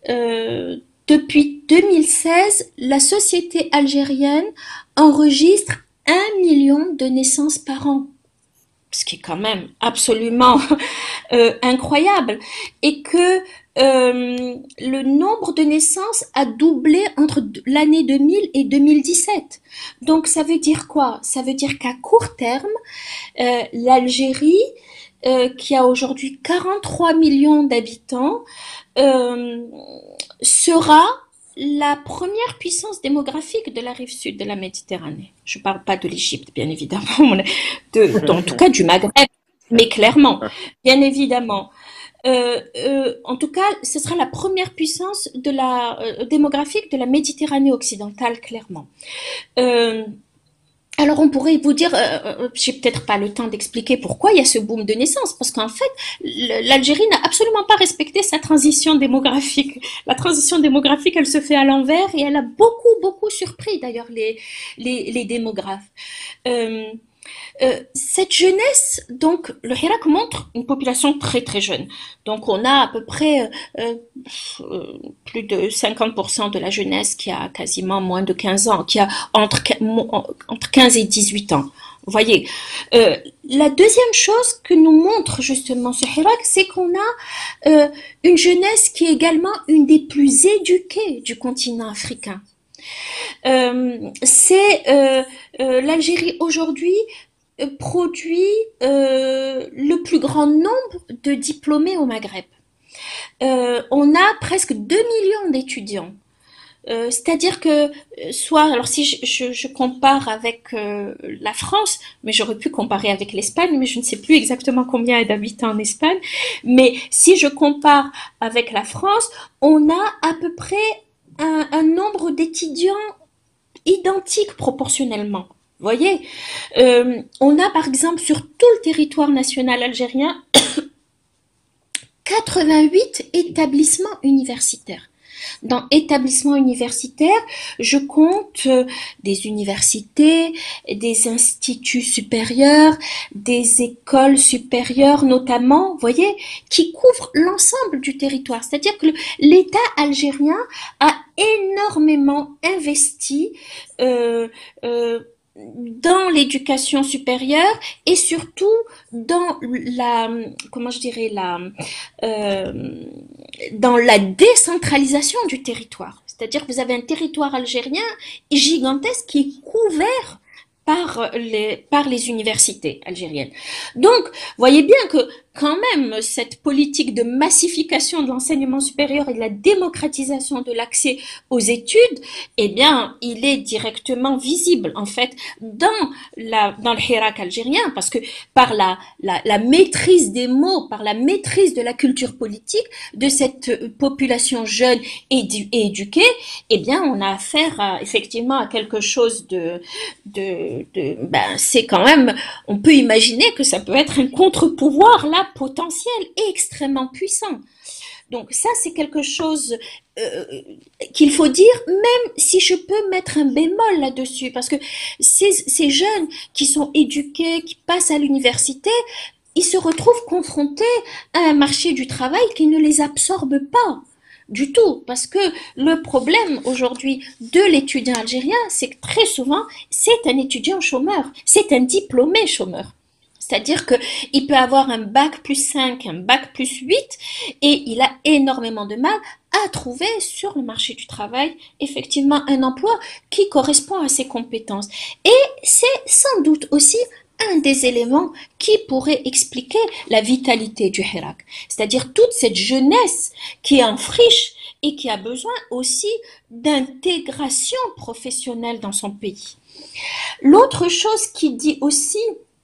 euh, depuis deux mille seize, la société algérienne enregistre un million de naissances par an, ce qui est quand même absolument euh, incroyable, et que euh, le nombre de naissances a doublé entre l'année deux mille et deux mille dix-sept. Donc ça veut dire quoi? Ça veut dire qu'à court terme, euh, l'Algérie, euh, qui a aujourd'hui quarante-trois millions d'habitants, euh, sera la première puissance démographique de la rive sud de la Méditerranée. Je ne parle pas de l'Égypte, bien évidemment, de, en tout cas du Maghreb, mais clairement, bien évidemment. Euh, euh, en tout cas, ce sera la première puissance de la, euh, démographique de la Méditerranée occidentale, clairement. Euh, Alors on pourrait vous dire, euh, j'ai peut-être pas le temps d'expliquer pourquoi il y a ce boom de naissance, parce qu'en fait, l'Algérie n'a absolument pas respecté sa transition démographique. La transition démographique, elle se fait à l'envers et elle a beaucoup, beaucoup surpris d'ailleurs les, les, les démographes. Euh, Euh, cette jeunesse, donc le Hirak montre une population très très jeune. Donc on a à peu près euh, euh, plus de cinquante pour cent de la jeunesse qui a quasiment moins de quinze ans, qui a entre, entre quinze et dix-huit ans. Vous voyez. Euh, la deuxième chose que nous montre justement ce Hirak, c'est qu'on a euh, une jeunesse qui est également une des plus éduquées du continent africain. Euh, c'est euh, euh, l'Algérie aujourd'hui euh, produit euh, le plus grand nombre de diplômés au Maghreb. Euh, on a presque deux millions d'étudiants. Euh, c'est-à-dire que soit, alors si je, je, je compare avec euh, la France, mais j'aurais pu comparer avec l'Espagne, mais je ne sais plus exactement combien il y a d'habitants en Espagne, mais si je compare avec la France, on a à peu près un, un nombre d'étudiants identique proportionnellement. Vous voyez, euh, on a par exemple sur tout le territoire national algérien quatre-vingt-huit établissements universitaires. Dans établissements universitaires, je compte euh, des universités, des instituts supérieurs, des écoles supérieures notamment, vous voyez, qui couvrent l'ensemble du territoire. C'est-à-dire que l'État algérien a énormément investi euh, euh, dans l'éducation supérieure et surtout dans la, comment je dirais, la, euh, dans la décentralisation du territoire. C'est-à-dire que vous avez un territoire algérien gigantesque qui est couvert par les, par les universités algériennes. Donc, voyez bien que quand même, cette politique de massification de l'enseignement supérieur et de la démocratisation de l'accès aux études, eh bien, il est directement visible, en fait, dans la, dans le Hirak algérien, parce que par la, la, la maîtrise des mots, par la maîtrise de la culture politique de cette population jeune et, et éduquée, eh bien, on a affaire à, effectivement à quelque chose de, de, de ben, c'est quand même, on peut imaginer que ça peut être un contre-pouvoir, là, potentiel et extrêmement puissant. Donc ça, c'est quelque chose euh, qu'il faut dire, même si je peux mettre un bémol là-dessus, parce que ces, ces jeunes qui sont éduqués, qui passent à l'université, ils se retrouvent confrontés à un marché du travail qui ne les absorbe pas du tout, parce que le problème aujourd'hui de l'étudiant algérien, c'est que très souvent, c'est un étudiant chômeur, c'est un diplômé chômeur. C'est-à-dire qu'il peut avoir un bac plus cinq, un bac plus huit, et il a énormément de mal à trouver sur le marché du travail, effectivement, un emploi qui correspond à ses compétences. Et c'est sans doute aussi un des éléments qui pourrait expliquer la vitalité du Hirak. C'est-à-dire toute cette jeunesse qui est en friche et qui a besoin aussi d'intégration professionnelle dans son pays. L'autre chose qui dit aussi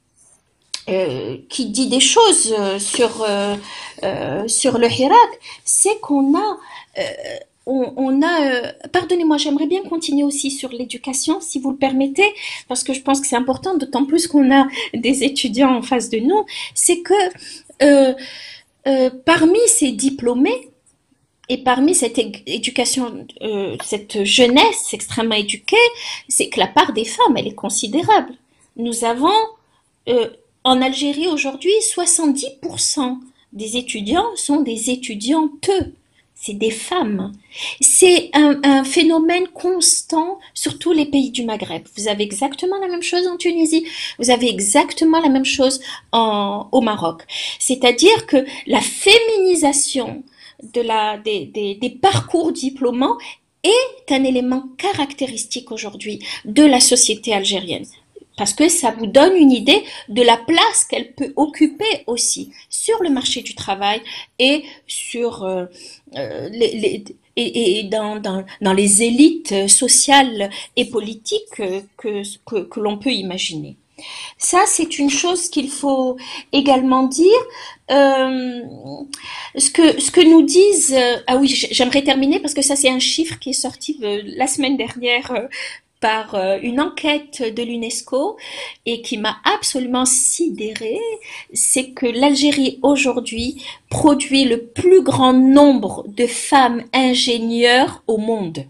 Euh, qui dit des choses euh, sur euh, euh, sur le Hirak, c'est qu'on a euh, on, on a euh, pardonnez-moi, j'aimerais bien continuer aussi sur l'éducation, si vous le permettez, parce que je pense que c'est important, d'autant plus qu'on a des étudiants en face de nous. C'est que euh, euh, parmi ces diplômés et parmi cette éducation, euh, cette jeunesse extrêmement éduquée, c'est que la part des femmes, elle est considérable. Nous avons euh, en Algérie aujourd'hui, soixante-dix pour cent des étudiants sont des étudiantes, c'est des femmes. C'est un, un phénomène constant sur tous les pays du Maghreb. Vous avez exactement la même chose en Tunisie, vous avez exactement la même chose en, au Maroc. C'est-à-dire que la féminisation de la, des, des, des parcours diplômants est un élément caractéristique aujourd'hui de la société algérienne. Parce que ça vous donne une idée de la place qu'elle peut occuper aussi sur le marché du travail et sur euh, euh, les, les et, et dans, dans, dans les élites sociales et politiques que, que, que l'on peut imaginer. Ça, c'est une chose qu'il faut également dire. Euh, ce que ce que nous disent, euh, ah oui, j'aimerais terminer parce que ça, c'est un chiffre qui est sorti euh, la semaine dernière. Euh, par une enquête de l'UNESCO et qui m'a absolument sidérée, c'est que l'Algérie aujourd'hui produit le plus grand nombre de femmes ingénieures au monde.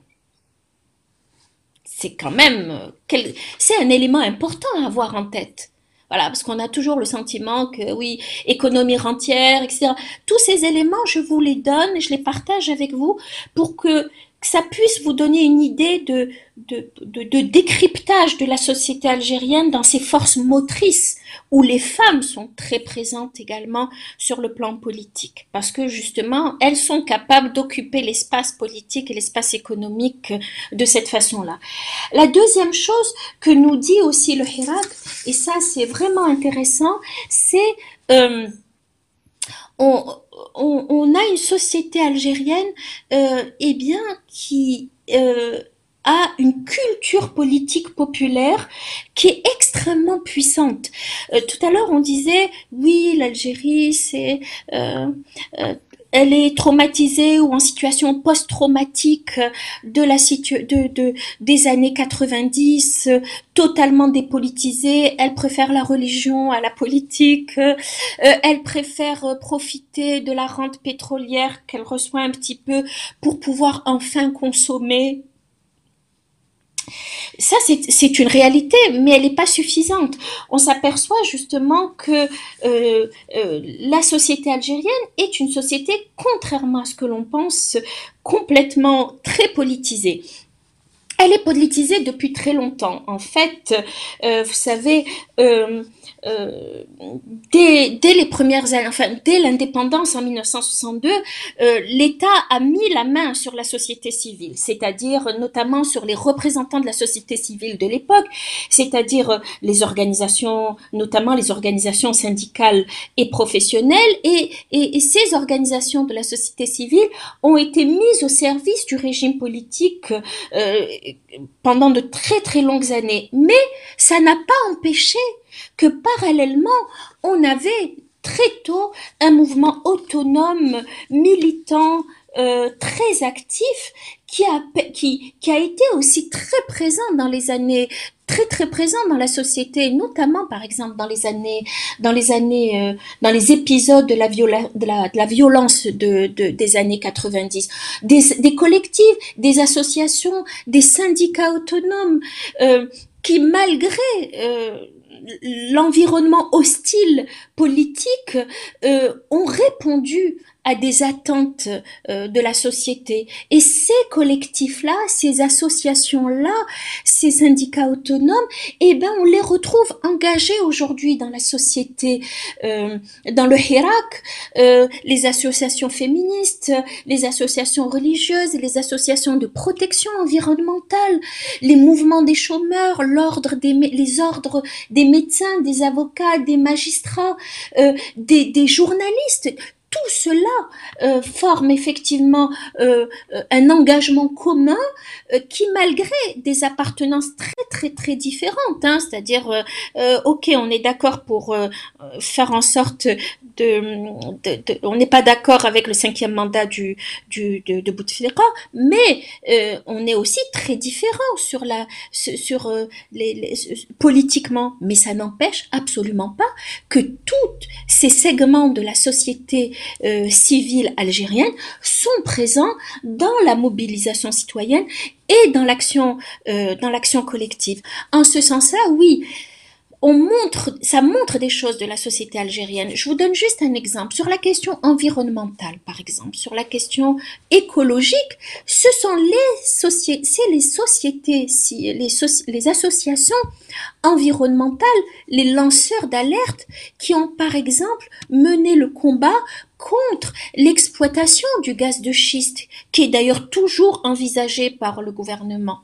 C'est quand même, c'est un élément important à avoir en tête. Voilà, parce qu'on a toujours le sentiment que oui, économie rentière, et cetera. Tous ces éléments, je vous les donne, je les partage avec vous pour que que ça puisse vous donner une idée de, de, de, de décryptage de la société algérienne dans ses forces motrices, où les femmes sont très présentes également sur le plan politique, parce que justement, elles sont capables d'occuper l'espace politique et l'espace économique de cette façon-là. La deuxième chose que nous dit aussi le Hirak, et ça c'est vraiment intéressant, c'est... Euh, on, on, on a une société algérienne euh, eh bien, qui euh, a une culture politique populaire qui est extrêmement puissante. Euh, tout à l'heure, on disait, oui, l'Algérie, c'est... Euh, euh, elle est traumatisée ou en situation post-traumatique de la situ- de, de, des années quatre-vingt-dix, totalement dépolitisée. Elle préfère la religion à la politique. Euh, elle préfère profiter de la rente pétrolière qu'elle reçoit un petit peu pour pouvoir enfin consommer. Ça, c'est, c'est une réalité, mais elle n'est pas suffisante. On s'aperçoit justement que euh, euh, la société algérienne est une société, contrairement à ce que l'on pense, complètement très politisée. Elle est politisée depuis très longtemps. En fait, euh, vous savez, euh, euh, dès, dès les premières années, enfin dès l'indépendance en mille neuf cent soixante-deux, euh, l'État a mis la main sur la société civile, c'est-à-dire notamment sur les représentants de la société civile de l'époque, c'est-à-dire les organisations, notamment les organisations syndicales et professionnelles, et, et, et ces organisations de la société civile ont été mises au service du régime politique euh, pendant de très très longues années. Mais ça n'a pas empêché que parallèlement, on avait très tôt un mouvement autonome, militant, euh, très actif, qui a, qui, qui a été aussi très présent dans les années, très très présent dans la société, notamment par exemple dans les années, dans les années, euh, dans les épisodes de la, viola, de la, de la violence de, de, des années quatre-vingt-dix, des, des collectifs, des associations, des syndicats autonomes, euh, qui malgré euh, l'environnement hostile politique euh, ont répondu à des attentes euh, de la société. Et ces collectifs-là, ces associations-là, ces syndicats autonomes, eh ben, on les retrouve engagés aujourd'hui dans la société, euh, dans le Hirak, euh, les associations féministes, les associations religieuses, les associations de protection environnementale, les mouvements des chômeurs, l'ordre des, les ordres des médecins, des avocats, des magistrats, euh, des, des journalistes. Tout cela euh, forme effectivement euh, un engagement commun euh, qui, malgré des appartenances très très très différentes, hein, c'est-à-dire, euh, euh, ok, on est d'accord pour euh, faire en sorte de, de, de on n'est pas d'accord avec le cinquième mandat du, du de, de Bouteflika, mais euh, on est aussi très différents sur la sur euh, les, les politiquement, mais ça n'empêche absolument pas que tous ces segments de la société Euh, civile algérienne sont présents dans la mobilisation citoyenne et dans l'action, euh, dans l'action collective. En ce sens-là, oui, on montre, ça montre des choses de la société algérienne. Je vous donne juste un exemple. Sur la question environnementale, par exemple, sur la question écologique, ce sont les sociétés, c'est les sociétés, si, les, soci, les associations environnementales, les lanceurs d'alerte qui ont, par exemple, mené le combat contre l'exploitation du gaz de schiste, qui est d'ailleurs toujours envisagé par le gouvernement,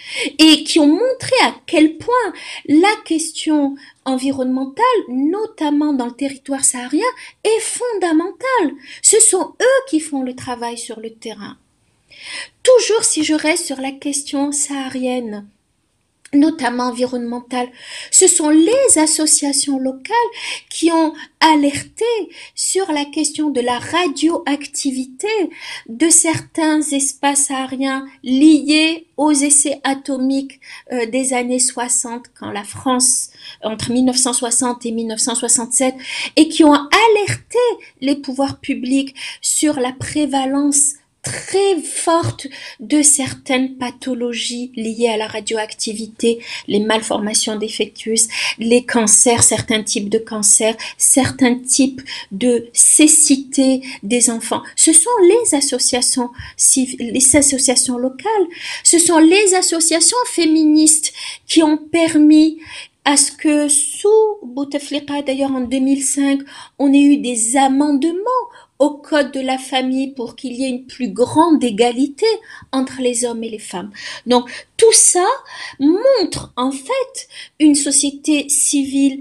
et qui ont montré à quel point la question environnementale, notamment dans le territoire saharien, est fondamentale. Ce sont eux qui font le travail sur le terrain. Toujours si je reste sur la question saharienne, notamment environnementale, ce sont les associations locales qui ont alerté sur la question de la radioactivité de certains espaces sahariens liés aux essais atomiques euh, des années soixante, quand la France, entre mille neuf cent soixante et mille neuf cent soixante-sept, et qui ont alerté les pouvoirs publics sur la prévalence très forte de certaines pathologies liées à la radioactivité, les malformations défectueuses, les cancers, certains types de cancers, certains types de cécité des enfants. Ce sont les associations civiles, les associations locales, ce sont les associations féministes qui ont permis à ce que sous Bouteflika, d'ailleurs en deux mille cinq, on ait eu des amendements au code de la famille pour qu'il y ait une plus grande égalité entre les hommes et les femmes. Donc tout ça montre en fait une société civile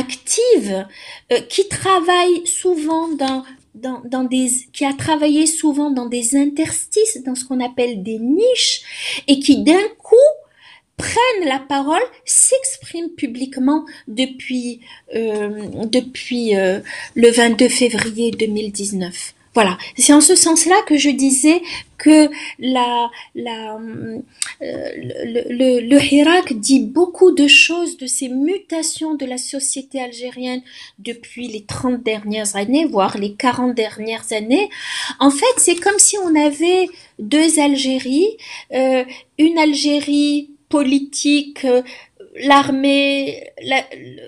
active euh, qui travaille souvent dans Dans, dans des, qui a travaillé souvent dans des interstices, dans ce qu'on appelle des niches, et qui d'un coup prennent la parole, s'expriment publiquement depuis euh, depuis euh, le vingt-deux février deux mille dix-neuf. Voilà, c'est en ce sens-là que je disais que la la euh, le, le, le Hirak dit beaucoup de choses de ces mutations de la société algérienne depuis les trente dernières années, voire les quarante dernières années. En fait, c'est comme si on avait deux Algéries, euh, une Algérie politique, euh, l'armée, la,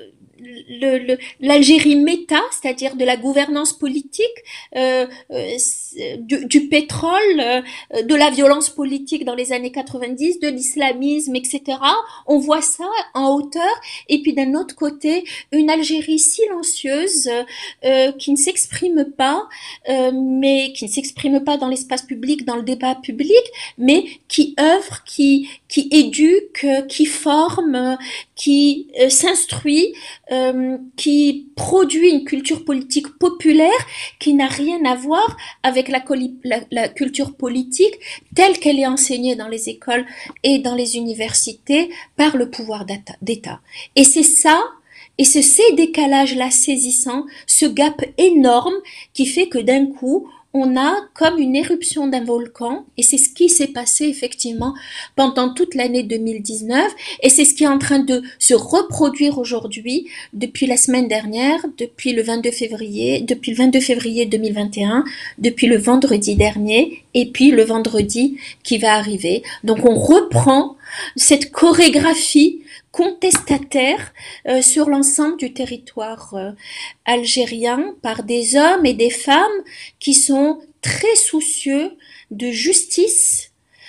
le, le, l'Algérie méta, c'est-à-dire de la gouvernance politique, euh, euh, du, du pétrole, euh, de la violence politique dans les années quatre-vingt-dix, de l'islamisme, et cetera. On voit ça en hauteur. Et puis d'un autre côté, une Algérie silencieuse euh, qui ne s'exprime pas, euh, mais qui ne s'exprime pas dans l'espace public, dans le débat public, mais qui œuvre, qui qui éduque, qui forme, qui euh, s'instruit, euh, qui produit une culture politique populaire qui n'a rien à voir avec la, la, la culture politique telle qu'elle est enseignée dans les écoles et dans les universités par le pouvoir d'État. Et c'est ça, et c'est ces décalages-là saisissants, ce gap énorme qui fait que d'un coup, on a comme une éruption d'un volcan, et c'est ce qui s'est passé effectivement pendant toute l'année deux mille dix-neuf, et c'est ce qui est en train de se reproduire aujourd'hui, depuis la semaine dernière, depuis le vingt-deux février, depuis le vingt-deux février deux mille vingt et un, depuis le vendredi dernier, et puis le vendredi qui va arriver. Donc on reprend cette chorégraphie contestataire euh, sur l'ensemble du territoire euh, algérien par des hommes et des femmes qui sont très soucieux de justice,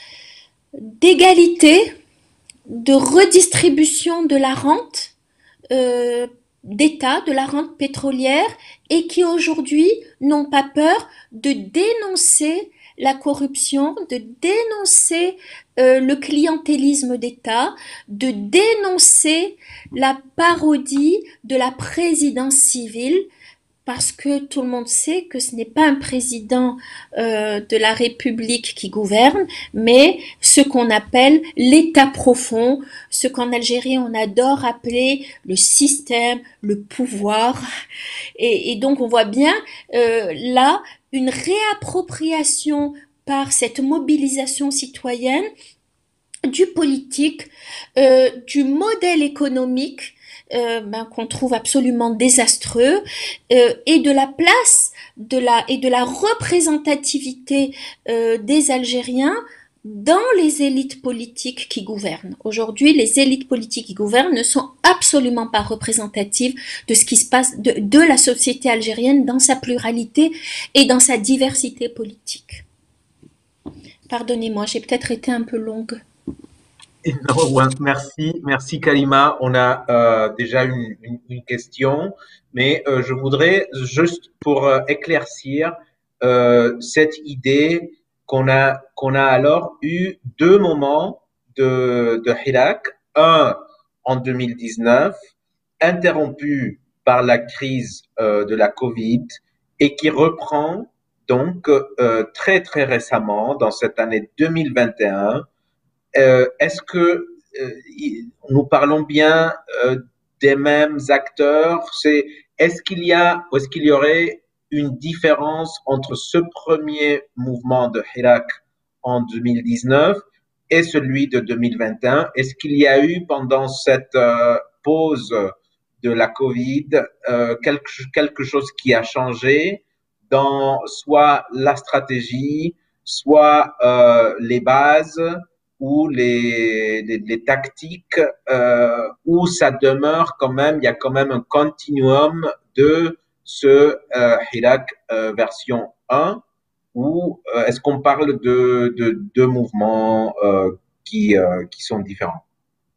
d'égalité, de redistribution de la rente euh, d'État, de la rente pétrolière, et qui aujourd'hui n'ont pas peur de dénoncer la corruption, de dénoncer euh, le clientélisme d'État, de dénoncer la parodie de la présidence civile, parce que tout le monde sait que ce n'est pas un président euh, de la République qui gouverne, mais ce qu'on appelle l'État profond, ce qu'en Algérie on adore appeler le système, le pouvoir. Et, et donc on voit bien euh, là une réappropriation par cette mobilisation citoyenne du politique, euh, du modèle économique euh, ben, qu'on trouve absolument désastreux, euh, et de la place de la et de la représentativité euh, des Algériens dans les élites politiques qui gouvernent. Aujourd'hui, les élites politiques qui gouvernent ne sont absolument pas représentatives de ce qui se passe, de, de la société algérienne dans sa pluralité et dans sa diversité politique. Pardonnez-moi, j'ai peut-être été un peu longue. Non, ouais, merci, merci Karima. On a euh, déjà une, une, une question, mais euh, je voudrais juste pour euh, éclaircir euh, cette idée qu'on a qu'on a alors eu deux moments de de Hirak, un en deux mille dix-neuf, interrompu par la crise euh, de la Covid et qui reprend donc euh, très très récemment dans cette année deux mille vingt et un. Euh, est-ce que euh, nous parlons bien euh, des mêmes acteurs? C'est, est-ce qu'il y a, est-ce qu'il y aurait une différence entre ce premier mouvement de Hirak en deux mille dix-neuf et celui de deux mille vingt et un? Est-ce qu'il y a eu pendant cette euh, pause de la Covid euh, quelque, quelque chose qui a changé dans soit la stratégie, soit euh, les bases, ou les, les, les tactiques, euh, où ça demeure quand même, il y a quand même un continuum de ce euh, Hirak euh, version un, ou euh, est-ce qu'on parle de deux de, de mouvements euh, qui, euh, qui sont différents?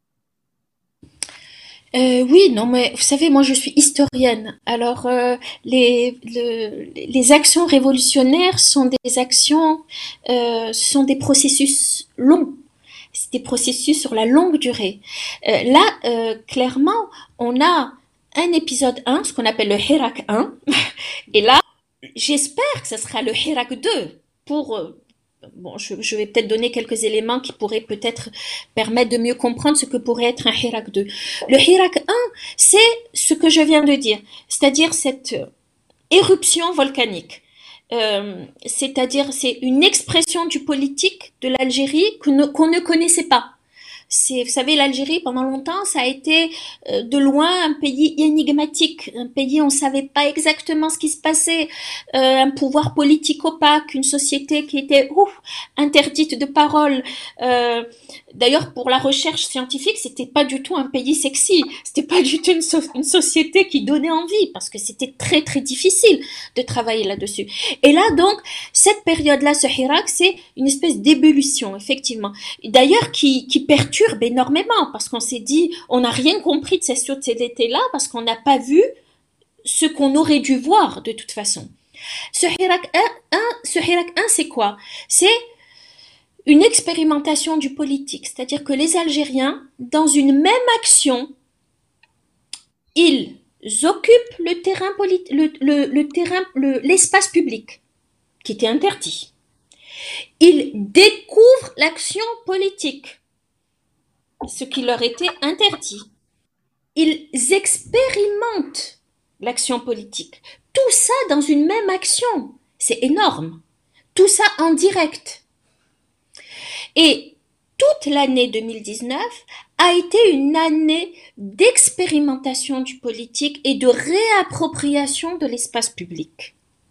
Euh, oui, non, mais vous savez, moi je suis historienne. Alors, euh, les, le- les actions révolutionnaires sont des actions, euh, sont des processus longs. C'est des processus sur la longue durée. Euh, là, euh, clairement, on a un épisode un, ce qu'on appelle le Hirak un, et là, j'espère que ce sera le Hirak deux pour... euh, Bon, je, je vais peut-être donner quelques éléments qui pourraient peut-être permettre de mieux comprendre ce que pourrait être un Hirak deux. Le Hirak un, c'est ce que je viens de dire, c'est-à-dire cette euh, éruption volcanique. Euh, c'est-à-dire c'est une expression du politique de l'Algérie que ne- qu'on ne connaissait pas. C'est, vous savez, l'Algérie, pendant longtemps, ça a été euh, de loin un pays énigmatique, un pays où on ne savait pas exactement ce qui se passait, euh, un pouvoir politique opaque, une société qui était ouf, interdite de parole. Euh, D'ailleurs, pour la recherche scientifique, c'était pas du tout un pays sexy, c'était pas du tout une, so- une société qui donnait envie, parce que c'était très très difficile de travailler là-dessus. Et là, donc, cette période-là, ce Hirak, c'est une espèce d'ébullition, effectivement. D'ailleurs, qui, qui perturbe énormément, parce qu'on s'est dit, on n'a rien compris de cette société-là, parce qu'on n'a pas vu ce qu'on aurait dû voir de toute façon. Ce Hirak un, ce Hirak un, c'est quoi? C'est une expérimentation du politique, c'est-à-dire que les Algériens, dans une même action, ils occupent le terrain politi- le, le, le terrain, le, l'espace public, qui était interdit. Ils découvrent l'action politique, ce qui leur était interdit. Ils expérimentent l'action politique. Tout ça dans une même action. C'est énorme. Tout ça en direct. Et toute l'année deux mille dix-neuf a été une année d'expérimentation du politique et de réappropriation de l'espace public.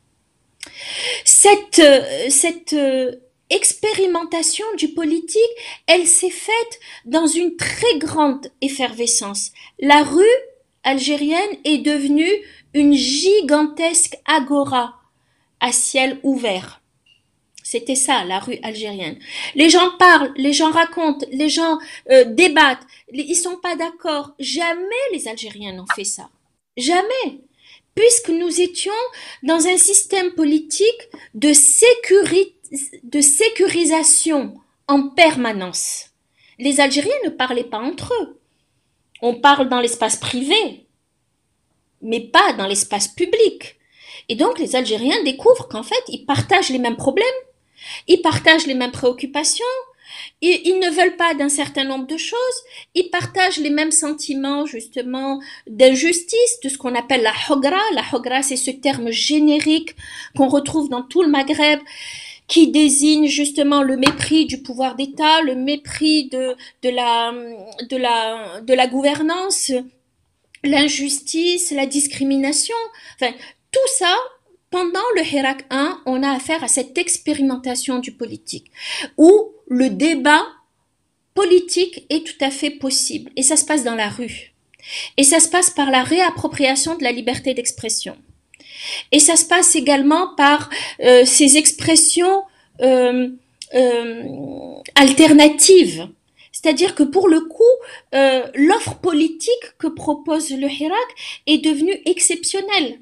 Cette, euh, cette euh, expérimentation du politique, elle s'est faite dans une très grande effervescence. La rue algérienne est devenue une gigantesque agora à ciel ouvert. C'était ça, la rue algérienne. Les gens parlent, les gens racontent, les gens euh, débattent, ils sont pas d'accord. Jamais les Algériens n'ont fait ça. Jamais. Puisque nous étions dans un système politique de, sécuri- de sécurisation en permanence. Les Algériens ne parlaient pas entre eux. On parle dans l'espace privé, mais pas dans l'espace public. Et donc les Algériens découvrent qu'en fait, ils partagent les mêmes problèmes, ils partagent les mêmes préoccupations, ils, ils ne veulent pas d'un certain nombre de choses, ils partagent les mêmes sentiments justement d'injustice, de ce qu'on appelle la hogra. La hogra, c'est ce terme générique qu'on retrouve dans tout le Maghreb, qui désigne justement le mépris du pouvoir d'État, le mépris de, de, la, de, la, de la gouvernance, l'injustice, la discrimination. Enfin, tout ça, pendant le Hirak un, on a affaire à cette expérimentation du politique, où le débat politique est tout à fait possible. Et ça se passe dans la rue. Et ça se passe par la réappropriation de la liberté d'expression. Et ça se passe également par euh, ces expressions euh, euh, alternatives. C'est-à-dire que pour le coup, euh, l'offre politique que propose le Hirak est devenue exceptionnelle.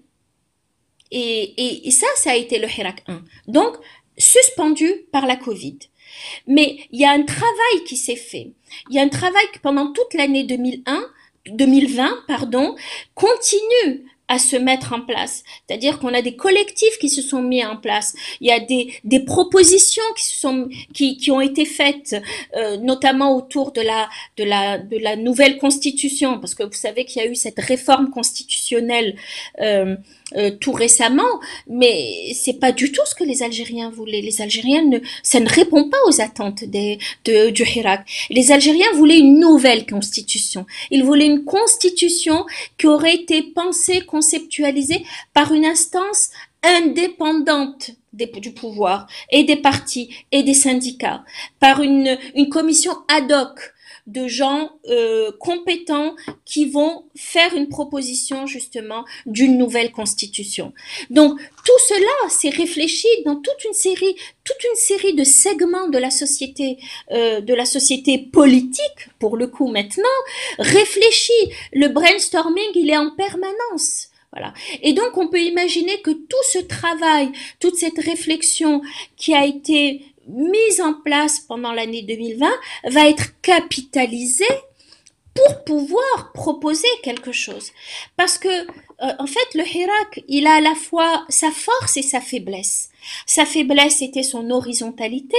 Et, et, et ça, ça a été le Hirak un. Donc, suspendu par la Covid. Mais il y a un travail qui s'est fait. Il y a un travail qui, pendant toute l'année deux mille un, deux mille vingt, pardon, continue à se mettre en place. C'est-à-dire qu'on a des collectifs qui se sont mis en place. Il y a des, des propositions qui se sont, qui, qui ont été faites, euh, notamment autour de la, de la, de la nouvelle constitution, parce que vous savez qu'il y a eu cette réforme constitutionnelle, euh, Euh, tout récemment, mais c'est pas du tout ce que les Algériens voulaient. Les Algériens ne, ça ne répond pas aux attentes des, de, du Hirak. Les Algériens voulaient une nouvelle constitution. Ils voulaient une constitution qui aurait été pensée, conceptualisée par une instance indépendante des, du pouvoir et des partis et des syndicats, par une, une commission ad hoc de gens euh, compétents qui vont faire une proposition justement d'une nouvelle constitution. Donc tout cela s'est réfléchi dans toute une série, toute une série de segments de la société, euh, de la société politique pour le coup maintenant, réfléchi. Le brainstorming, il est en permanence. Voilà. Et donc on peut imaginer que tout ce travail, toute cette réflexion qui a été mise en place pendant l'année deux mille vingt va être capitalisée pour pouvoir proposer quelque chose. Parce que, euh, en fait, le Hirak, il a à la fois sa force et sa faiblesse. Sa faiblesse était son horizontalité.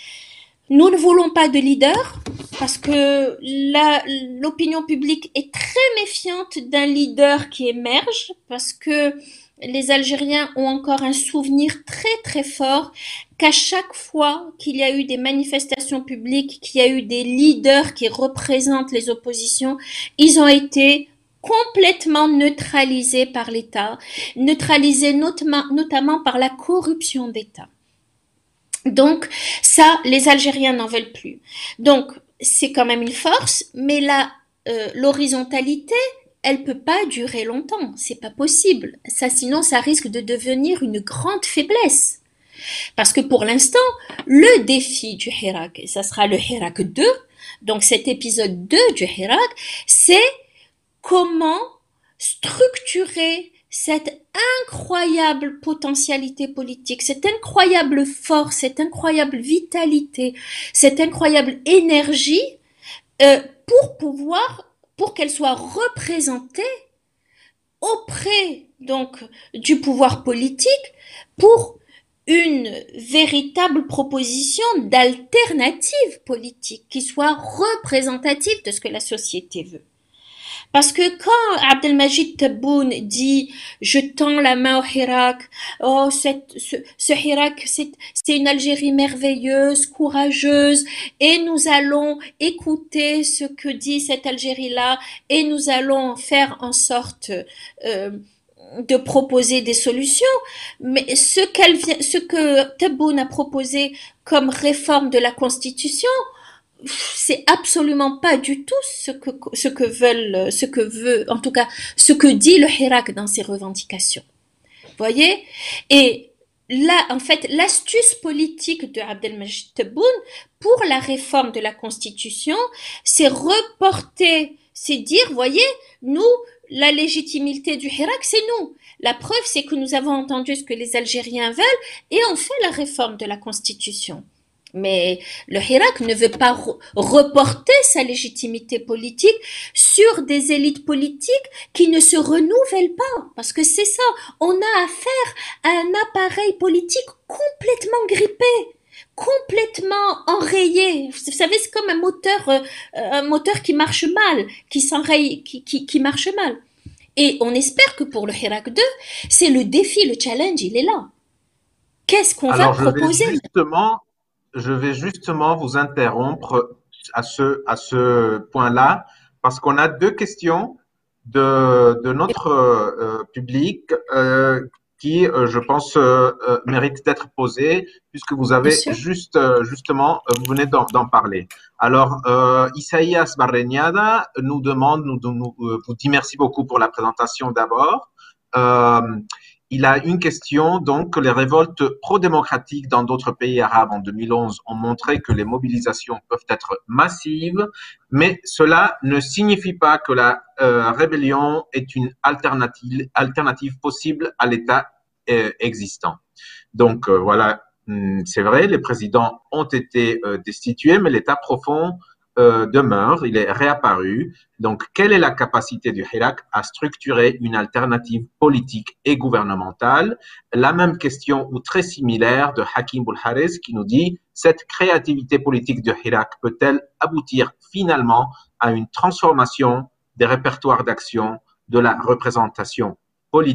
Nous ne voulons pas de leader parce que la, l'opinion publique est très méfiante d'un leader qui émerge parce que les Algériens ont encore un souvenir très très fort qu'à chaque fois qu'il y a eu des manifestations publiques, qu'il y a eu des leaders qui représentent les oppositions, ils ont été complètement neutralisés par l'État, neutralisés notamment, notamment par la corruption d'État. Donc ça, les Algériens n'en veulent plus. Donc c'est quand même une force, mais la, euh, l'horizontalité, elle peut pas durer longtemps, c'est pas possible. Ça, sinon, ça risque de devenir une grande faiblesse. Parce que pour l'instant, le défi du Hirak, et ça sera le Hirak deux, donc cet épisode deux du Hirak, c'est comment structurer cette incroyable potentialité politique, cette incroyable force, cette incroyable vitalité, cette incroyable énergie euh, pour pouvoir pour qu'elle soit représentée auprès donc du pouvoir politique pour une véritable proposition d'alternative politique qui soit représentative de ce que la société veut. Parce que quand Abdelmajid Tebboune dit « je tends la main au Hirak, oh, cette, ce, ce Hirak, c'est, c'est une Algérie merveilleuse, courageuse, et nous allons écouter ce que dit cette Algérie-là, et nous allons faire en sorte euh, de proposer des solutions », mais ce, qu'elle vient, ce que Tebboune a proposé comme réforme de la Constitution, c'est absolument pas du tout ce que ce que veulent ce que veut en tout cas ce que dit le Hirak dans ses revendications. Voyez? Et là en fait l'astuce politique de Abdelmajid Tebboune pour la réforme de la Constitution, c'est reporter, c'est dire voyez, nous la légitimité du Hirak, c'est nous. La preuve c'est que nous avons entendu ce que les Algériens veulent et on fait la réforme de la Constitution. Mais le Hirak ne veut pas re- reporter sa légitimité politique sur des élites politiques qui ne se renouvellent pas. Parce que c'est ça, on a affaire à un appareil politique complètement grippé, complètement enrayé. Vous savez, c'est comme un moteur, euh, un moteur qui marche mal, qui s'enraye, qui, qui, qui marche mal. Et on espère que pour le Hirak deux, c'est le défi, le challenge, il est là. Qu'est-ce qu'on Alors, va proposer? je vais justement, je vais justement vous interrompre à ce, à ce point-là, parce qu'on a deux questions de, de notre euh, public euh, qui, euh, je pense, euh, euh, mérite d'être posée, puisque vous avez juste, euh, justement, euh, vous venez d'en parler. Alors, euh, Isaías Barreñada nous demande, nous, nous, euh, vous dit merci beaucoup pour la présentation d'abord. Euh, il a une question, donc, les révoltes pro-démocratiques dans d'autres pays arabes en deux mille onze ont montré que les mobilisations peuvent être massives, mais cela ne signifie pas que la euh, rébellion est une alternative, alternative possible à l'État euh, existant. Donc, euh, voilà, c'est vrai, les présidents ont été euh, destitués, mais l'État profond euh, demeure, il est réapparu. Donc, quelle est la capacité du Hirak à structurer une alternative politique et gouvernementale? La même question ou très similaire de Hakim Boulhares qui nous dit « Cette créativité politique du Hirak peut-elle aboutir finalement à une transformation des répertoires d'action de la représentation politique ?»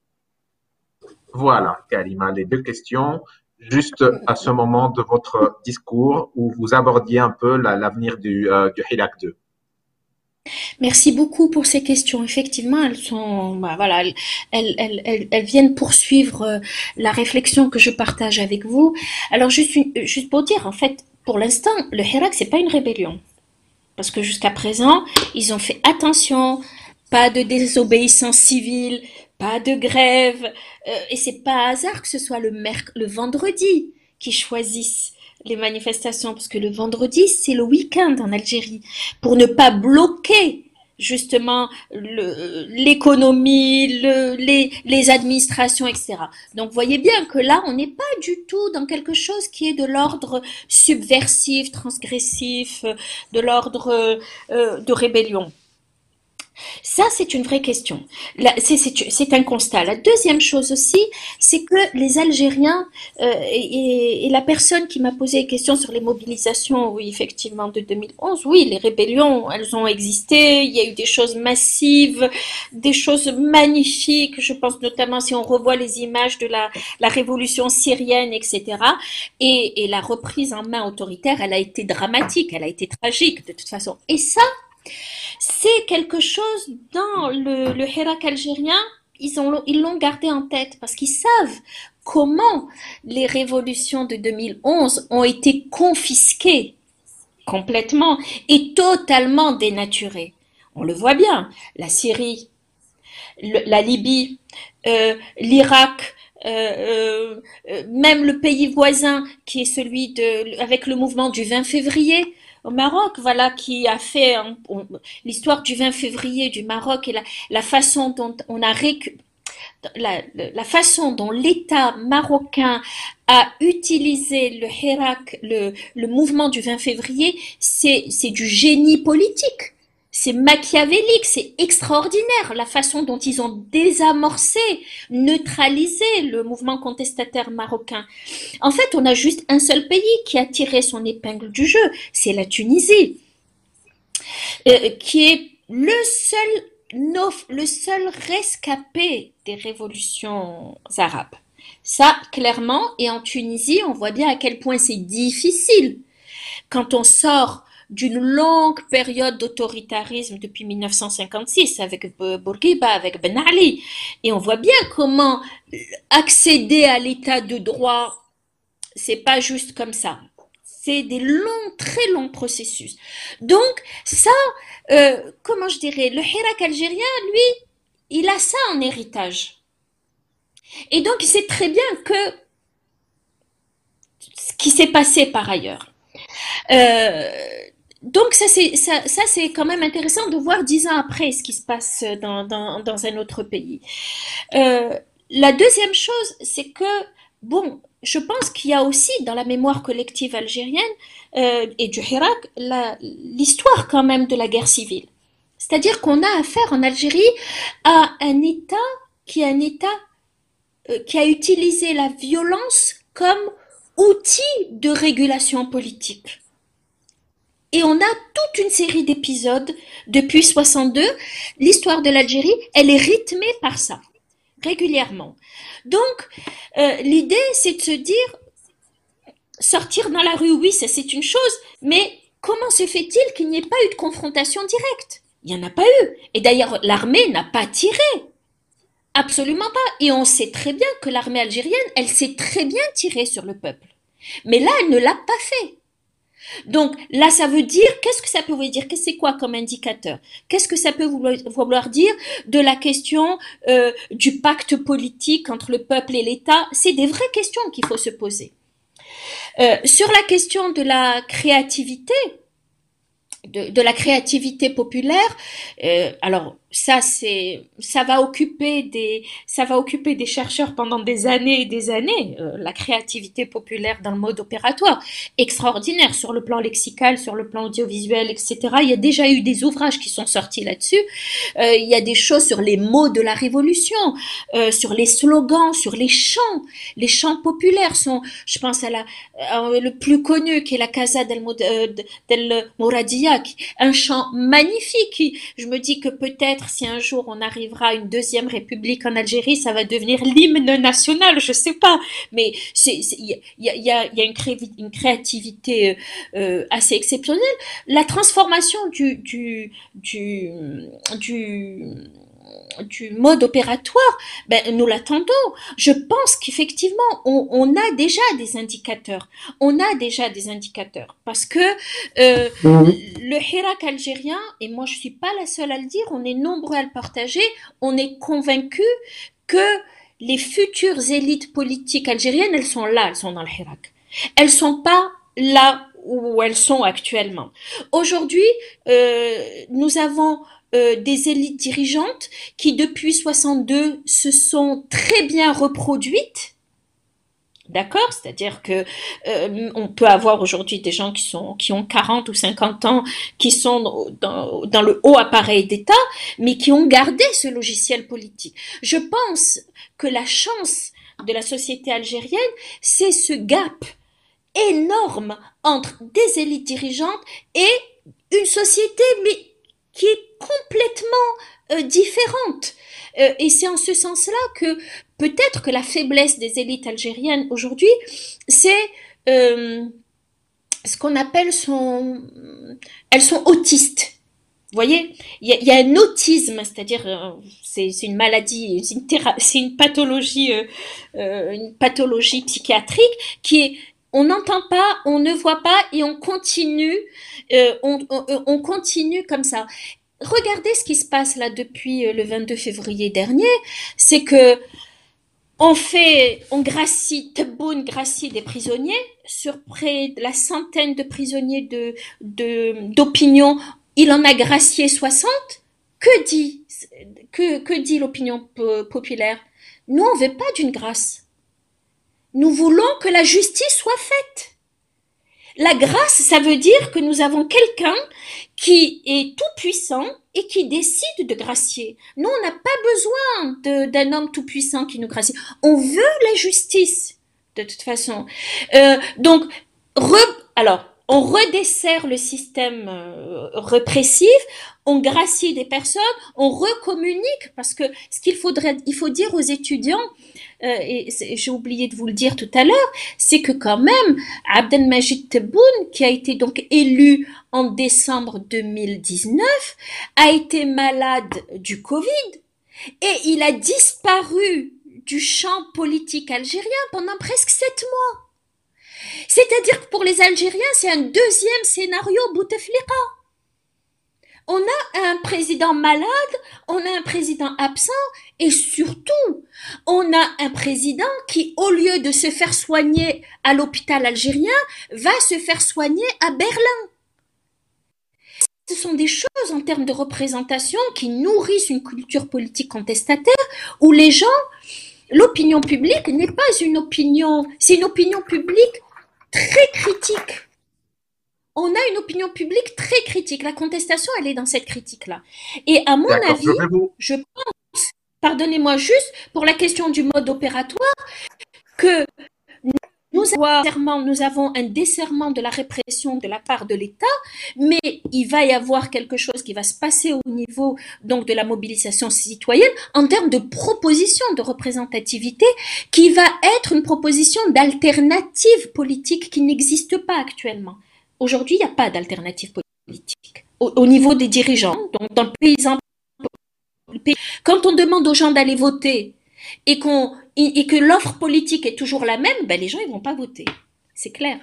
Voilà, Karima, les deux questions, juste à ce moment de votre discours où vous abordiez un peu l'avenir du, euh, du Hirak deux. Merci beaucoup pour ces questions. Effectivement, elles sont, bah, voilà, elles, elles, elles, elles viennent poursuivre la réflexion que je partage avec vous. Alors, juste, une, juste pour dire, en fait, pour l'instant, le Hirak, c'est pas une rébellion. Parce que jusqu'à présent, ils ont fait attention, pas de désobéissance civile, pas de grève, euh, et c'est pas hasard que ce soit le, merc- le vendredi qui choisissent les manifestations, parce que le vendredi, c'est le week-end en Algérie, pour ne pas bloquer justement le- l'économie, le, les, les administrations, et cetera. Donc, voyez bien que là, on n'est pas du tout dans quelque chose qui est de l'ordre subversif, transgressif, de l'ordre euh, de rébellion. Ça, c'est une vraie question. C'est un constat. La deuxième chose aussi, c'est que les Algériens euh, et, et la personne qui m'a posé des questions sur les mobilisations, oui, effectivement, de deux mille onze, oui, les rébellions, elles ont existé. Il y a eu des choses massives, des choses magnifiques. Je pense notamment si on revoit les images de la, la révolution syrienne, et cetera. Et, et la reprise en main autoritaire, elle a été dramatique, elle a été tragique de toute façon. Et ça, c'est quelque chose dans le, le Hirak algérien, ils ont, ils l'ont gardé en tête parce qu'ils savent comment les révolutions de deux mille onze ont été confisquées complètement et totalement dénaturées. On le voit bien, la Syrie, le, la Libye, euh, l'Irak, euh, euh, même le pays voisin qui est celui de, avec le mouvement du vingt février, au Maroc, voilà, qui a fait l'histoire du vingt février du Maroc et la, la façon dont on a récu, la, la façon dont l'État marocain a utilisé le Hirak, le, le mouvement du vingt février, c'est du génie politique. C'est machiavélique, c'est extraordinaire la façon dont ils ont désamorcé, neutralisé le mouvement contestataire marocain. En fait, on a juste un seul pays qui a tiré son épingle du jeu, c'est la Tunisie, euh, qui est le seul, le seul rescapé des révolutions arabes. Ça, clairement, et en Tunisie, on voit bien à quel point c'est difficile quand on sort d'une longue période d'autoritarisme depuis mille neuf cent cinquante-six avec Bourguiba, avec Ben Ali. Et on voit bien comment accéder à l'état de droit, c'est pas juste comme ça. C'est des longs, très longs processus. Donc, ça, euh, comment je dirais, le Hirak algérien, lui, il a ça en héritage. Et donc, il sait très bien que ce qui s'est passé par ailleurs. Euh, Donc ça c'est ça, ça c'est quand même intéressant de voir dix ans après ce qui se passe dans, dans, dans un autre pays. Euh, la deuxième chose, c'est que bon, je pense qu'il y a aussi dans la mémoire collective algérienne euh, et du Hirak l'histoire quand même de la guerre civile. C'est-à-dire qu'on a affaire en Algérie à un État qui est un État euh, qui a utilisé la violence comme outil de régulation politique. Et on a toute une série d'épisodes depuis soixante-deux. L'histoire de l'Algérie, elle est rythmée par ça, régulièrement. Donc, euh, l'idée, c'est de se dire, sortir dans la rue, oui, ça c'est une chose, mais comment se fait-il qu'il n'y ait pas eu de confrontation directe? Il n'y en a pas eu. Et d'ailleurs, l'armée n'a pas tiré Absolument pas. Et on sait très bien que l'armée algérienne, elle sait très bien tirer sur le peuple. Mais là, elle ne l'a pas fait. Donc là, ça veut dire, qu'est-ce que ça peut vouloir dire? Qu'est-ce que c'est quoi comme indicateur? Qu'est-ce que ça peut vouloir, vouloir dire de la question euh, du pacte politique entre le peuple et l'État? C'est des vraies questions qu'il faut se poser. Euh, sur la question de la créativité, de, de la créativité populaire, euh, alors ça c'est ça va occuper des ça va occuper des chercheurs pendant des années et des années, euh, la créativité populaire dans le mode opératoire, extraordinaire sur le plan lexical, sur le plan audiovisuel, et cetera. Il y a déjà eu des ouvrages qui sont sortis là-dessus. Euh, il y a des choses sur les mots de la révolution, euh, sur les slogans, sur les chants. Les chants populaires sont, je pense à la euh, le plus connu qui est la Casa del, euh, del Mouradia, un chant magnifique. Je me dis que peut-être si un jour on arrivera à une deuxième république en Algérie, ça va devenir l'hymne national, je sais pas. Mais il y a, y, a, y a une, cré, une créativité euh, assez exceptionnelle. La transformation du, du, du, du du mode opératoire, ben, nous l'attendons. Je pense qu'effectivement, on, on a déjà des indicateurs. On a déjà des indicateurs. Parce que euh, mmh. le Hirak algérien, et moi je ne suis pas la seule à le dire, on est nombreux à le partager, on est convaincus que les futures élites politiques algériennes, elles sont là, elles sont dans le Hirak. Elles ne sont pas là où elles sont actuellement. Aujourd'hui, euh, nous avons Euh, des élites dirigeantes qui depuis soixante-deux se sont très bien reproduites, d'accord, c'est-à-dire que euh, on peut avoir aujourd'hui des gens qui sont qui ont quarante ou cinquante ans, qui sont dans, dans le haut appareil d'État, mais qui ont gardé ce logiciel politique. Je pense que la chance de la société algérienne, c'est ce gap énorme entre des élites dirigeantes et une société mais qui est complètement euh, différente. Euh, et c'est en ce sens-là que peut-être que la faiblesse des élites algériennes aujourd'hui, c'est euh, ce qu'on appelle son... Elles sont autistes. Vous voyez, il y a, y a un autisme, c'est-à-dire euh, c'est, c'est une maladie, c'est une, théra- c'est une pathologie, euh, euh, une pathologie psychiatrique qui est on n'entend pas, on ne voit pas et on continue, euh, on, on, on continue comme ça. Regardez ce qui se passe là depuis le vingt-deux février dernier, c'est que on fait, on gracie, Tebboune gracie des prisonniers, sur près de la centaine de prisonniers de, de, d'opinion, il en a gracié soixante. Que dit, que, que dit l'opinion populaire? Nous, on ne veut pas d'une grâce. Nous voulons que la justice soit faite. La grâce, ça veut dire que nous avons quelqu'un qui est tout puissant et qui décide de gracier. Nous, on n'a pas besoin de, d'un homme tout puissant qui nous gracie. On veut la justice, de toute façon. Euh, donc, re, alors, on redessert le système euh, répressif, on gracie des personnes, on recommunique, parce que ce qu'il faudrait, il faut dire aux étudiants, euh, et j'ai oublié de vous le dire tout à l'heure, c'est que quand même, Abdelmajid Tebboune, qui a été donc élu en décembre deux mille dix-neuf, a été malade du Covid, et il a disparu du champ politique algérien pendant presque sept mois. C'est-à-dire que pour les Algériens, c'est un deuxième scénario Bouteflika. On a un président malade, on a un président absent et surtout, on a un président qui, au lieu de se faire soigner à l'hôpital algérien, va se faire soigner à Berlin. Ce sont des choses en termes de représentation qui nourrissent une culture politique contestataire où les gens, l'opinion publique n'est pas une opinion, c'est une opinion publique très critique. On a une opinion publique très critique. La contestation, elle est dans cette critique-là. Et à mon D'accord, avis, je, vous... je pense, pardonnez-moi juste, pour la question du mode opératoire, que nous avons, nous avons un desserrement de la répression de la part de l'État, mais il va y avoir quelque chose qui va se passer au niveau donc de la mobilisation citoyenne en termes de proposition de représentativité qui va être une proposition d'alternative politique qui n'existe pas actuellement. Aujourd'hui, il n'y a pas d'alternative politique au, au niveau des dirigeants, donc dans le paysan Quand on demande aux gens d'aller voter et, qu'on, et que l'offre politique est toujours la même, ben les gens ne vont pas voter. C'est clair.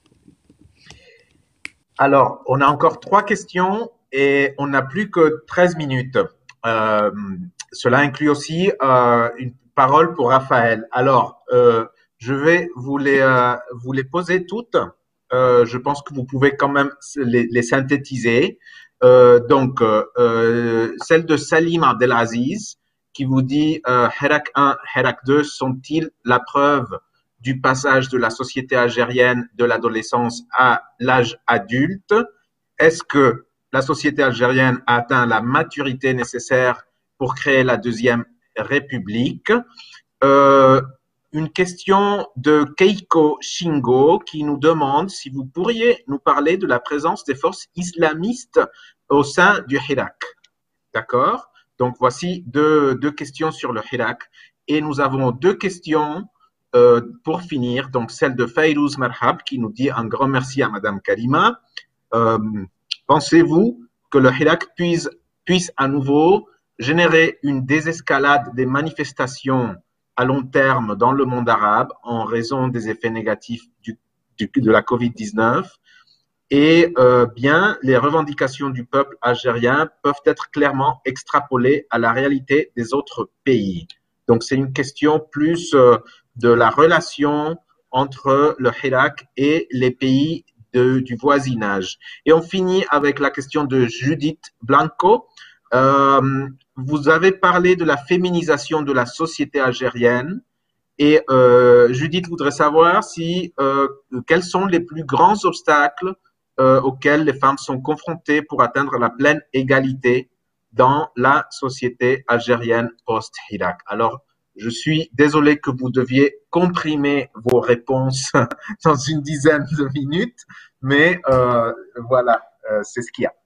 Alors, on a encore trois questions et on n'a plus que treize minutes. Euh, cela inclut aussi euh, une parole pour Raphaël. Alors, euh, je vais vous les, euh, vous les poser toutes. Euh, je pense que vous pouvez quand même les, les synthétiser. Euh, donc, euh, celle de Salim Abdelaziz qui vous dit euh, Hirak un, Hirak deux sont-ils la preuve du passage de la société algérienne de l'adolescence à l'âge adulte? Est-ce que la société algérienne a atteint la maturité nécessaire pour créer la deuxième république? euh, Une question de Keiko Shingo qui nous demande si vous pourriez nous parler de la présence des forces islamistes au sein du Hirak. D'accord? Donc, voici deux, deux questions sur le Hirak. Et nous avons deux questions euh, pour finir. Donc, celle de Fayrouz Marhab qui nous dit un grand merci à Madame Karima. Euh, pensez-vous que le Hirak puisse, puisse à nouveau générer une désescalade des manifestations à long terme dans le monde arabe en raison des effets négatifs du, du, de la covid dix-neuf? Et euh, bien, les revendications du peuple algérien peuvent être clairement extrapolées à la réalité des autres pays. Donc, c'est une question plus euh, de la relation entre le Hirak et les pays de, du voisinage. Et on finit avec la question de Judith Blanco. Euh, vous avez parlé de la féminisation de la société algérienne. Et euh, Judith voudrait savoir si, euh, quels sont les plus grands obstacles Euh, auxquelles les femmes sont confrontées pour atteindre la pleine égalité dans la société algérienne post-Hirak. Alors, je suis désolé que vous deviez comprimer vos réponses dans une dizaine de minutes, mais euh, voilà, euh, c'est ce qu'il y a.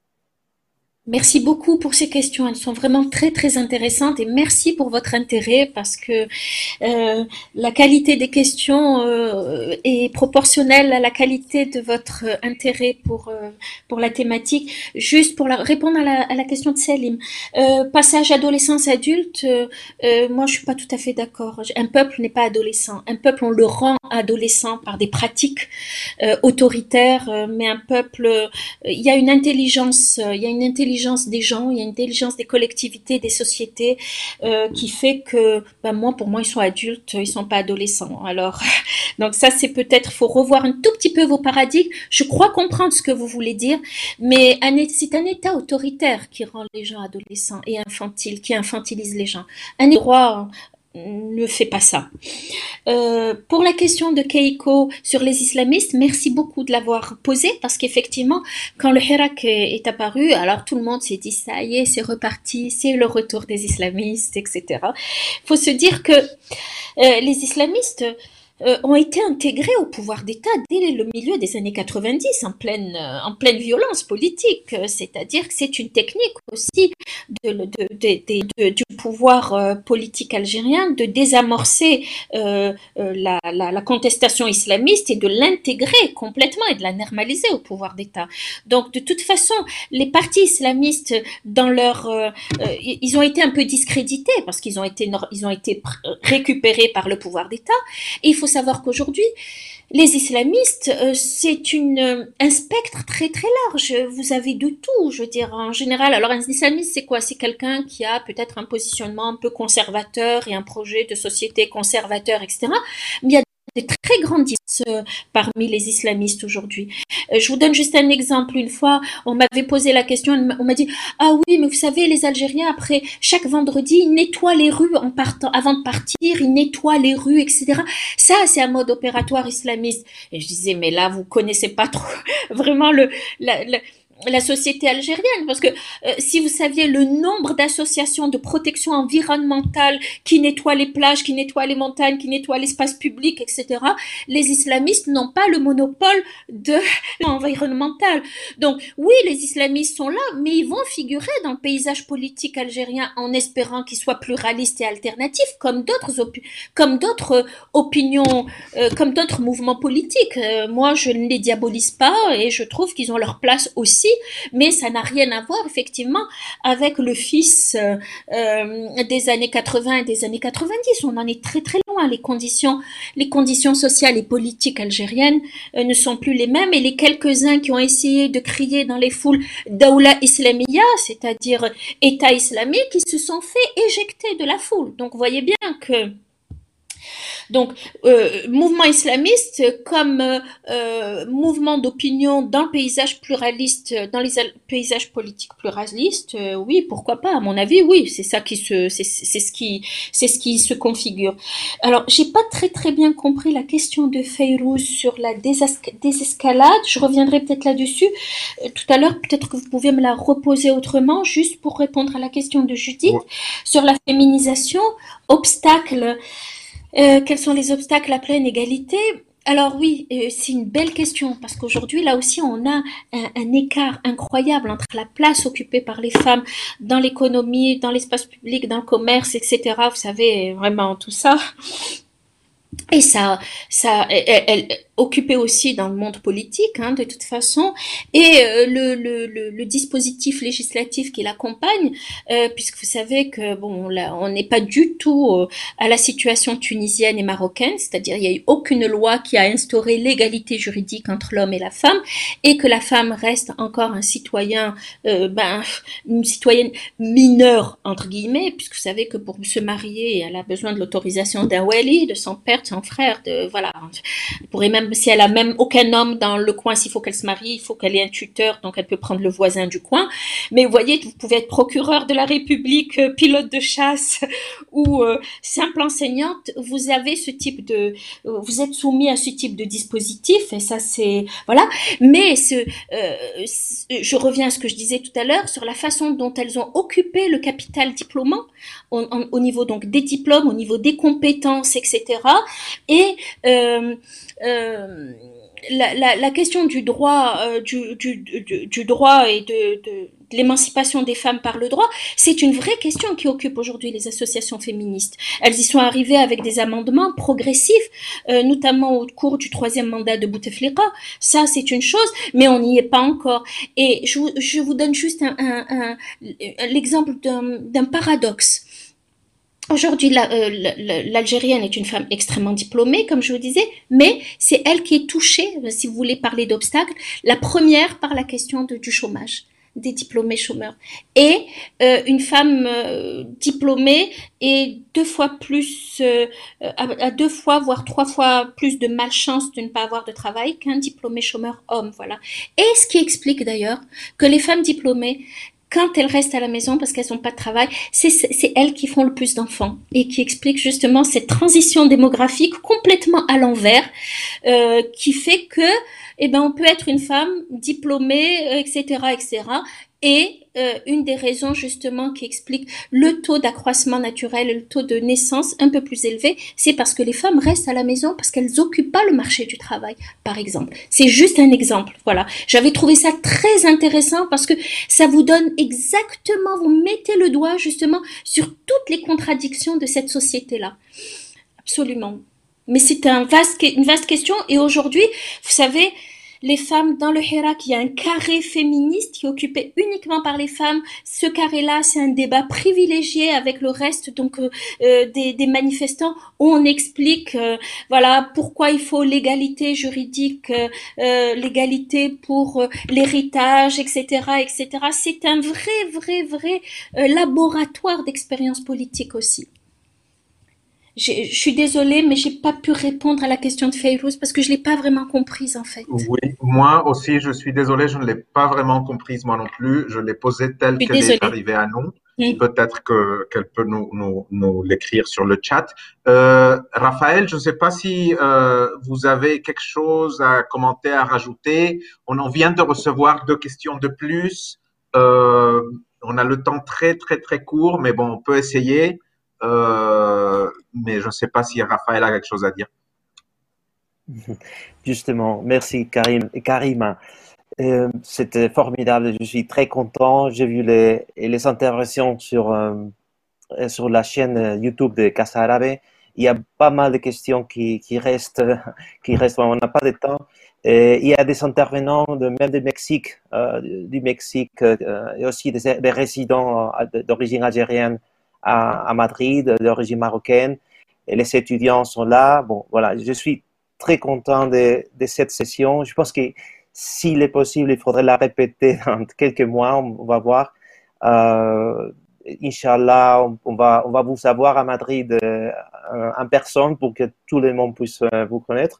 Merci beaucoup pour ces questions. Elles sont vraiment très très intéressantes et merci pour votre intérêt parce que euh, la qualité des questions euh, est proportionnelle à la qualité de votre intérêt pour euh, pour la thématique. Juste pour la, répondre à la, à la question de Salim, euh, passage adolescence adulte, euh, euh, moi je suis pas tout à fait d'accord. Un peuple n'est pas adolescent. Un peuple on le rend adolescent par des pratiques euh, autoritaires, euh, mais un peuple, euh, il y a une intelligence, euh, il y a une intelligence des gens, il y a une intelligence des collectivités, des sociétés euh, qui fait que, ben moi, pour moi, ils sont adultes, ils sont pas adolescents. Alors, donc ça, c'est peut-être, faut revoir un tout petit peu vos paradigmes. Je crois comprendre ce que vous voulez dire, mais c'est un État autoritaire qui rend les gens adolescents et infantiles, qui infantilise les gens. Un droit ne fait pas ça. Euh, pour la question de Keiko sur les islamistes, merci beaucoup de l'avoir posée parce qu'effectivement, quand le Hirak est apparu, alors tout le monde s'est dit ça y est, c'est reparti, c'est le retour des islamistes, et cetera. Il faut se dire que euh, les islamistes euh, ont été intégrés au pouvoir d'État dès le milieu des années quatre-vingt-dix, en pleine, euh, en pleine violence politique. C'est-à-dire que c'est une technique aussi de, de, de, de, de, du pouvoir euh, politique algérien de désamorcer euh, euh, la, la, la contestation islamiste et de l'intégrer complètement et de la normaliser au pouvoir d'État. Donc, de toute façon, les partis islamistes, dans leur, euh, euh, ils ont été un peu discrédités parce qu'ils ont été, ils ont été récupérés par le pouvoir d'État. Et il faut savoir qu'aujourd'hui, les islamistes, euh, c'est une euh, un spectre très très large. Vous avez de tout, je veux dire, en général. Alors un islamiste, c'est quoi? C'est quelqu'un qui a peut-être un positionnement un peu conservateur et un projet de société conservateur, et cetera. Mais il y a des très grandes différences euh, parmi les islamistes aujourd'hui. Euh, je vous donne juste un exemple. Une fois, on m'avait posé la question, on m'a dit « Ah oui, mais vous savez, les Algériens, après chaque vendredi, ils nettoient les rues en partant, avant de partir, ils nettoient les rues, et cetera. Ça, c'est un mode opératoire islamiste. » Et je disais « Mais là, vous connaissez pas trop vraiment le... La, la, la société algérienne, parce que euh, si vous saviez le nombre d'associations de protection environnementale qui nettoient les plages, qui nettoient les montagnes, qui nettoient l'espace public, et cetera, les islamistes n'ont pas le monopole de l'environnemental. Donc oui, les islamistes sont là, mais ils vont figurer dans le paysage politique algérien en espérant qu'il soit pluraliste et alternatif, comme d'autres opi- comme d'autres opinions, euh, comme d'autres mouvements politiques. Euh, moi, je ne les diabolise pas et je trouve qu'ils ont leur place aussi aussi, mais ça n'a rien à voir effectivement avec le fils euh, euh, des années quatre-vingts et des années quatre-vingt-dix. On en est très très loin. Les conditions, les conditions sociales et politiques algériennes euh, ne sont plus les mêmes, et les quelques-uns qui ont essayé de crier dans les foules Daoula Islamia, c'est-à-dire État islamique, ils se sont fait éjecter de la foule. Donc vous voyez bien que donc, euh, mouvement islamiste comme euh, euh, mouvement d'opinion dans le paysage pluraliste, dans les paysages politiques pluralistes, euh, oui, pourquoi pas, à mon avis, oui, c'est ça qui se, c'est, c'est ce qui, c'est ce qui se configure. Alors, j'ai pas très très bien compris la question de Fayrouz sur la désescalade. Je reviendrai peut-être là-dessus euh, tout à l'heure. Peut-être que vous pouvez me la reposer autrement, juste pour répondre à la question de Judith Ouais. sur la féminisation, obstacle. Euh, quels sont les obstacles à pleine égalité? Alors oui, euh, c'est une belle question parce qu'aujourd'hui, là aussi, on a un, un écart incroyable entre la place occupée par les femmes dans l'économie, dans l'espace public, dans le commerce, et cetera. Vous savez, vraiment tout ça. Et ça, ça, elle, elle occupée aussi dans le monde politique, hein, de toute façon, et euh, le, le, le, le dispositif législatif qui l'accompagne, euh, puisque vous savez que bon, là, on n'est pas du tout euh, à la situation tunisienne et marocaine, c'est-à-dire il n'y a eu aucune loi qui a instauré l'égalité juridique entre l'homme et la femme, et que la femme reste encore un citoyen, euh, ben, une citoyenne mineure entre guillemets, puisque vous savez que pour se marier, elle a besoin de l'autorisation d'un wali, de son père, de son frère, de voilà, elle pourrait même si elle a même aucun homme dans le coin, s'il faut qu'elle se marie, il faut qu'elle ait un tuteur, donc elle peut prendre le voisin du coin. Mais vous voyez, vous pouvez être procureur de la République, euh, pilote de chasse ou euh, simple enseignante, vous avez ce type de, euh, vous êtes soumis à ce type de dispositif, et ça c'est voilà. Mais ce, euh, je reviens à ce que je disais tout à l'heure sur la façon dont elles ont occupé le capital diplômant au, au niveau donc des diplômes, au niveau des compétences, et cetera. Et euh, euh, la, la, la question du droit, euh, du, du, du, du droit et de, de, de l'émancipation des femmes par le droit, c'est une vraie question qui occupe aujourd'hui les associations féministes. Elles y sont arrivées avec des amendements progressifs, euh, notamment au cours du troisième mandat de Bouteflika. Ça, c'est une chose, mais on n'y est pas encore. Et je, je vous donne juste un, un, un, l'exemple d'un, d'un paradoxe. Aujourd'hui, la, euh, l'Algérienne est une femme extrêmement diplômée, comme je vous disais, mais c'est elle qui est touchée, si vous voulez parler d'obstacles, la première par la question de, du chômage, des diplômés chômeurs. Et euh, une femme euh, diplômée est deux fois plus, euh, à, à deux fois, voire trois fois plus de malchance de ne pas avoir de travail qu'un diplômé chômeur homme, voilà. Et ce qui explique d'ailleurs que les femmes diplômées, quand elles restent à la maison parce qu'elles n'ont pas de travail, c'est, c'est elles qui font le plus d'enfants et qui expliquent justement cette transition démographique complètement à l'envers, euh, qui fait que, eh ben, on peut être une femme diplômée, et cetera, et cetera. Et euh, une des raisons justement qui explique le taux d'accroissement naturel, le taux de naissance un peu plus élevé, c'est parce que les femmes restent à la maison parce qu'elles n'occupent pas le marché du travail, par exemple. C'est juste un exemple, voilà. J'avais trouvé ça très intéressant parce que ça vous donne exactement, vous mettez le doigt justement sur toutes les contradictions de cette société-là. Absolument. Mais c'est un vaste, une vaste question, et aujourd'hui, vous savez, les femmes dans le Hirak, il y a un carré féministe qui est occupé uniquement par les femmes. Ce carré-là, c'est un débat privilégié avec le reste donc euh, euh, des, des manifestants où on explique euh, voilà pourquoi il faut l'égalité juridique, euh, euh, l'égalité pour euh, l'héritage, et cetera, et cetera. C'est un vrai, vrai, vrai euh, laboratoire d'expérience politique aussi. Je suis désolée, mais j'ai pas pu répondre à la question de Fayrouz parce que je l'ai pas vraiment comprise en fait. Oui, moi aussi, je suis désolé, je ne l'ai pas vraiment comprise moi non plus. Je l'ai posée telle qu'elle est arrivée à nous. Mmh. Peut-être que, qu'elle peut nous, nous, nous l'écrire sur le chat. Euh, Raphaël, je ne sais pas si euh, vous avez quelque chose à commenter, à rajouter. On en vient de recevoir deux questions de plus. Euh, on a le temps très, très, très court, mais bon, on peut essayer. Euh, mais je ne sais pas si Raphaël a quelque chose à dire. Justement, merci Karim. Karima, euh, c'était formidable, je suis très content. J'ai vu les, les interventions sur, euh, sur la chaîne YouTube de Casa Árabe il y a pas mal de questions qui, qui restent, qui restent, on n'a pas de temps. Et il y a des intervenants de, même du Mexique, euh, du Mexique euh, et aussi des, des résidents d'origine algérienne à, à Madrid, d'origine marocaine. Et les étudiants sont là. Bon, voilà, je suis très content de, de cette session. Je pense que s'il est possible, il faudrait la répéter dans quelques mois, on va voir. Euh, Inch'Allah, on, on, va, on va vous savoir à Madrid euh, en personne pour que tout le monde puisse euh, vous connaître.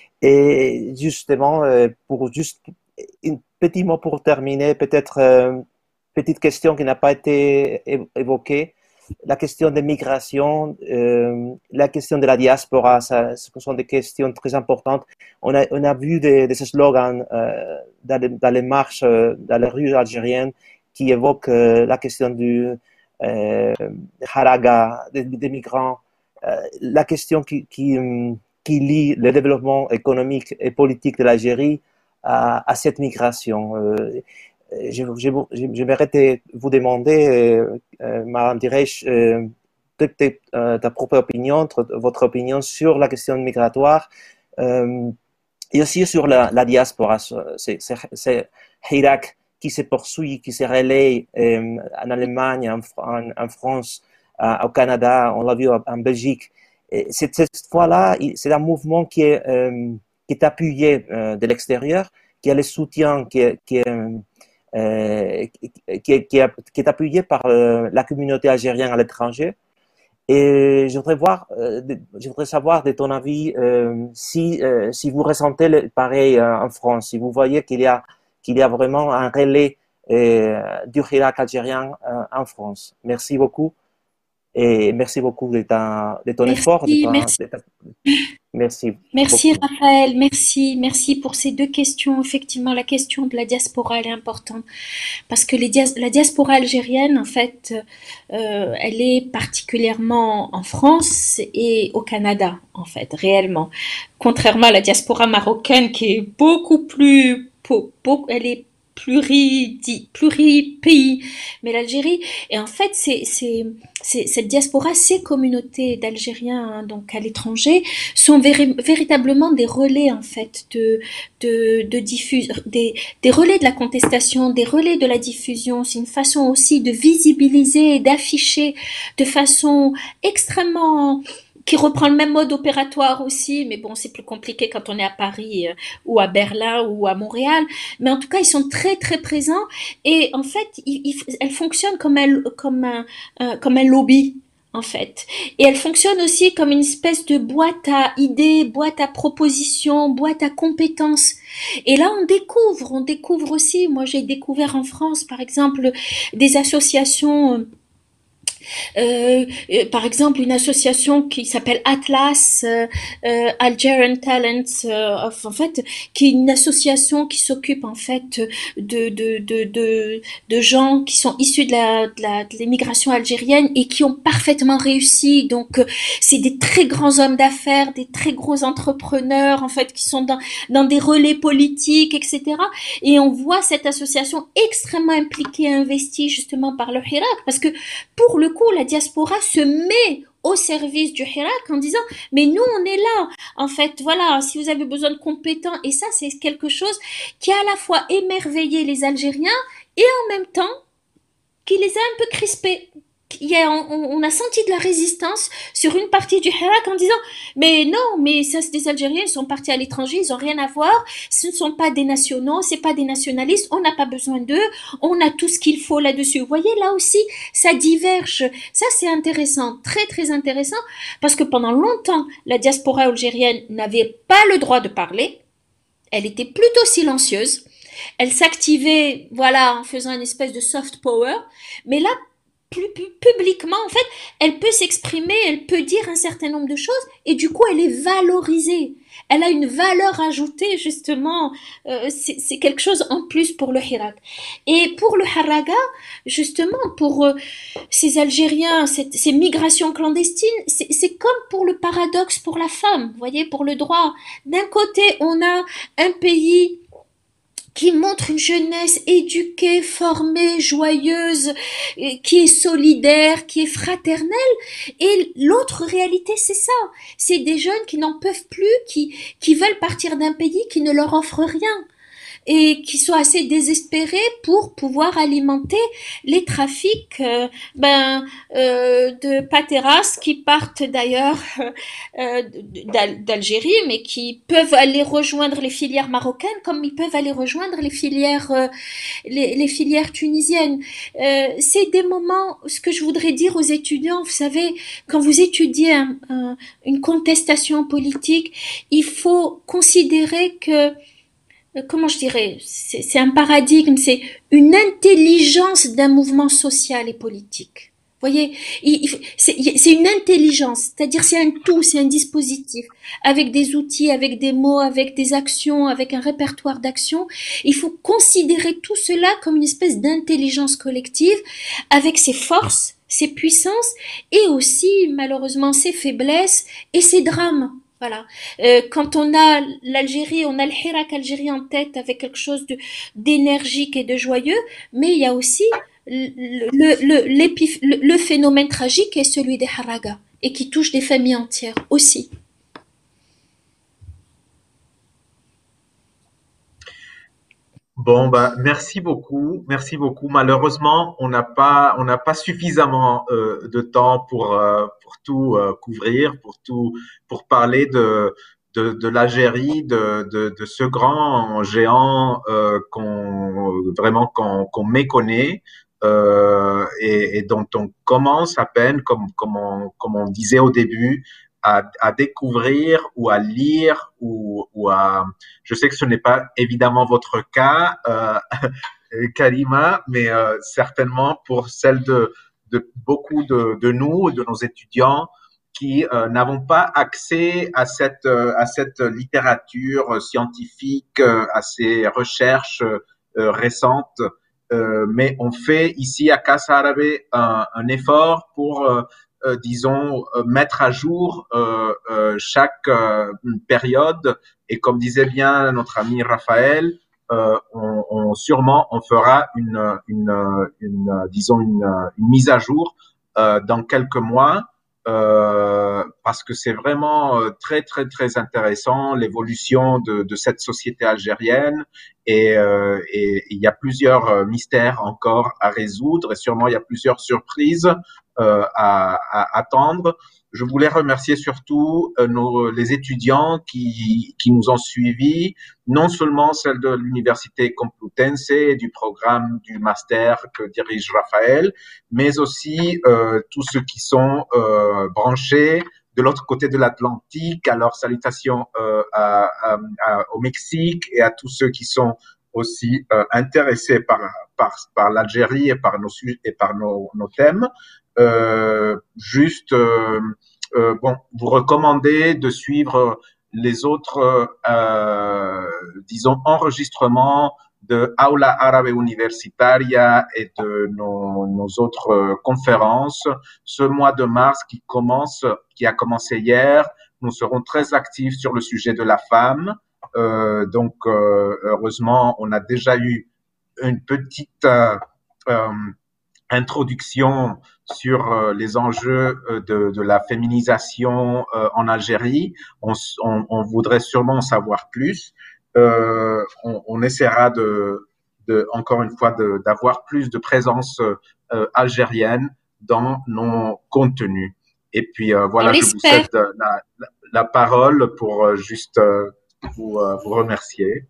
Et justement, euh, pour juste un petit mot pour terminer, peut-être euh, une petite question qui n'a pas été évoquée, la question des migrations, euh, la question de la diaspora, ça, ce sont des questions très importantes. On a, on a vu des, des slogans euh, dans, les, dans les marches, euh, dans les rues algériennes qui évoquent euh, la question du euh, haraga, des, des migrants, euh, la question qui, qui, qui lie le développement économique et politique de l'Algérie à, à cette migration. Euh, je, je, je, j'aimerais vous demander, euh, euh, Madame Diresh, euh, euh, ta propre opinion, votre opinion sur la question migratoire euh, et aussi sur la, la diaspora. C'est, c'est, c'est Hirak qui se poursuit, qui se relaie euh, en Allemagne, en, en, en France, euh, au Canada, on l'a vu en, en Belgique. Et cette, cette fois-là, c'est un mouvement qui est, euh, qui est appuyé euh, de l'extérieur, qui a le soutien, qui est, qui est, euh, qui est, qui est, qui est appuyé par euh, la communauté algérienne à l'étranger. Et je voudrais voir, euh, je voudrais savoir de ton avis euh, si, euh, si vous ressentez le, pareil euh, en France, si vous voyez qu'il y a qu'il y a vraiment un relais euh, du Hirak algérien euh, en France. Merci beaucoup et merci beaucoup de, ta, de ton merci, effort. De ta, merci. De ta... Merci. Merci beaucoup. Raphaël, merci, merci pour ces deux questions. Effectivement, la question de la diaspora, elle est importante parce que les dia- la diaspora algérienne, en fait, euh, elle est particulièrement en France et au Canada, en fait, réellement. Contrairement à la diaspora marocaine qui est beaucoup plus, beaucoup, elle est pluri, pluri-pays, mais l'Algérie, et en fait, c'est, c'est, c'est, cette diaspora, ces communautés d'Algériens, hein, donc à l'étranger, sont véri- véritablement des relais, en fait, de, de, de diffusion, des, des relais de la contestation, des relais de la diffusion. C'est une façon aussi de visibiliser et d'afficher de façon extrêmement, qui reprend le même mode opératoire aussi, mais bon, c'est plus compliqué quand on est à Paris euh, ou à Berlin ou à Montréal. Mais en tout cas, ils sont très très présents et en fait, ils, ils, elles fonctionnent comme un comme un euh, comme un lobby en fait. Et elle fonctionne aussi comme une espèce de boîte à idées, boîte à propositions, boîte à compétences. Et là, on découvre, on découvre aussi. Moi, j'ai découvert en France, par exemple, des associations. Euh, Euh, euh, par exemple, une association qui s'appelle Atlas euh, euh, Algerian Talents, euh, of, en fait, qui est une association qui s'occupe en fait de de de de, de gens qui sont issus de la de la de l'immigration algérienne et qui ont parfaitement réussi. Donc, euh, c'est des très grands hommes d'affaires, des très gros entrepreneurs en fait qui sont dans dans des relais politiques, et cetera. Et on voit cette association extrêmement impliquée et investie justement par le Hirak parce que pour le coup, la diaspora se met au service du Hirak en disant mais nous on est là en fait, voilà, si vous avez besoin de compétents. Et ça, c'est quelque chose qui a à la fois émerveillé les Algériens et en même temps qui les a un peu crispés. Il y a, on, on a senti de la résistance sur une partie du Hirak en disant mais non, mais ça c'est des Algériens, ils sont partis à l'étranger, ils ont rien à voir, ce ne sont pas des nationaux, c'est pas des nationalistes, on n'a pas besoin d'eux, on a tout ce qu'il faut là-dessus. Vous voyez, là aussi ça diverge. Ça, c'est intéressant, très très intéressant, parce que pendant longtemps la diaspora algérienne n'avait pas le droit de parler, elle était plutôt silencieuse, elle s'activait, voilà, en faisant une espèce de soft power, mais là plus, plus publiquement, en fait, elle peut s'exprimer, elle peut dire un certain nombre de choses, et du coup, elle est valorisée. Elle a une valeur ajoutée, justement. Euh, c'est, c'est quelque chose en plus pour le Hirak. Et pour le Haraga, justement, pour euh, ces Algériens, cette, ces migrations clandestines, c'est, c'est comme pour le paradoxe pour la femme, vous voyez, pour le droit. D'un côté, on a un pays qui montre une jeunesse éduquée, formée, joyeuse, qui est solidaire, qui est fraternelle. Et l'autre réalité, c'est ça. C'est des jeunes qui n'en peuvent plus, qui, qui veulent partir d'un pays qui ne leur offre rien, et qui sont assez désespérés pour pouvoir alimenter les trafics euh, ben, euh, de pateras qui partent d'ailleurs euh, d'Algérie, mais qui peuvent aller rejoindre les filières marocaines comme ils peuvent aller rejoindre les filières, euh, les, les filières tunisiennes. Euh, c'est des moments, ce que je voudrais dire aux étudiants, vous savez, quand vous étudiez un, un, une contestation politique, il faut considérer que comment je dirais, c'est un paradigme, c'est une intelligence d'un mouvement social et politique. Vous voyez, c'est une intelligence, c'est-à-dire c'est un tout, c'est un dispositif, avec des outils, avec des mots, avec des actions, avec un répertoire d'actions. Il faut considérer tout cela comme une espèce d'intelligence collective, avec ses forces, ses puissances, et aussi, malheureusement, ses faiblesses et ses drames. Voilà. Euh, quand on a l'Algérie, on a le Hirak Algérie en tête avec quelque chose de d'énergique et de joyeux, mais il y a aussi le, le, le, le phénomène tragique qui est celui des Haraga et qui touche des familles entières aussi. Bon, bah, merci beaucoup, merci beaucoup. Malheureusement, on n'a pas, on n'a pas suffisamment euh, de temps pour euh, pour tout euh, couvrir, pour tout, pour parler de de, de l'Algérie, de, de de ce grand géant euh, qu'on vraiment qu'on qu'on méconnaît euh, et, et dont on commence à peine, comme comme on comme on disait au début, à, à découvrir ou à lire ou ou à je sais que ce n'est pas évidemment votre cas, euh, Karima, mais euh, certainement pour celle de, de beaucoup de, de nous, de nos étudiants, qui euh, n'avons pas accès à cette, euh, à cette littérature scientifique, euh, à ces recherches euh, récentes. Euh, mais on fait ici à Casa Árabe un, un effort pour euh, euh, disons, euh, mettre à jour euh, euh, chaque euh, période. Et comme disait bien notre ami Raphaël, euh, on, on, sûrement on fera une, une, une disons, une, une mise à jour euh, dans quelques mois. Euh, parce que c'est vraiment euh, très très très intéressant l'évolution de, de cette société algérienne et, euh, et il y a plusieurs euh, mystères encore à résoudre et sûrement il y a plusieurs surprises euh, à, à attendre. Je voulais remercier surtout euh, nos, les étudiants qui, qui nous ont suivis, non seulement celles de l'Université Complutense et du programme du master que dirige Raphaël, mais aussi euh, tous ceux qui sont euh, branchés de l'autre côté de l'Atlantique. Alors, salutations euh, à, à, à, au Mexique et à tous ceux qui sont aussi euh, intéressés par, par, par l'Algérie et par nos, et par nos, nos thèmes. Euh, juste, euh, euh, bon, vous recommandez de suivre les autres, euh, disons, enregistrements de Aula Árabe Universitaria et de nos, nos autres conférences. Ce mois de mars qui commence, qui a commencé hier, nous serons très actifs sur le sujet de la femme. Euh, donc, euh, heureusement, on a déjà eu une petite euh, euh, introduction sur euh, les enjeux euh, de, de la féminisation euh, en Algérie. On, on, on voudrait sûrement en savoir plus. Euh, on, on essaiera de, de encore une fois, d'avoir plus de présence euh, algérienne dans nos contenus. Et puis euh, voilà, je vous cède la, la, la parole pour euh, juste euh, vous, euh, vous remercier.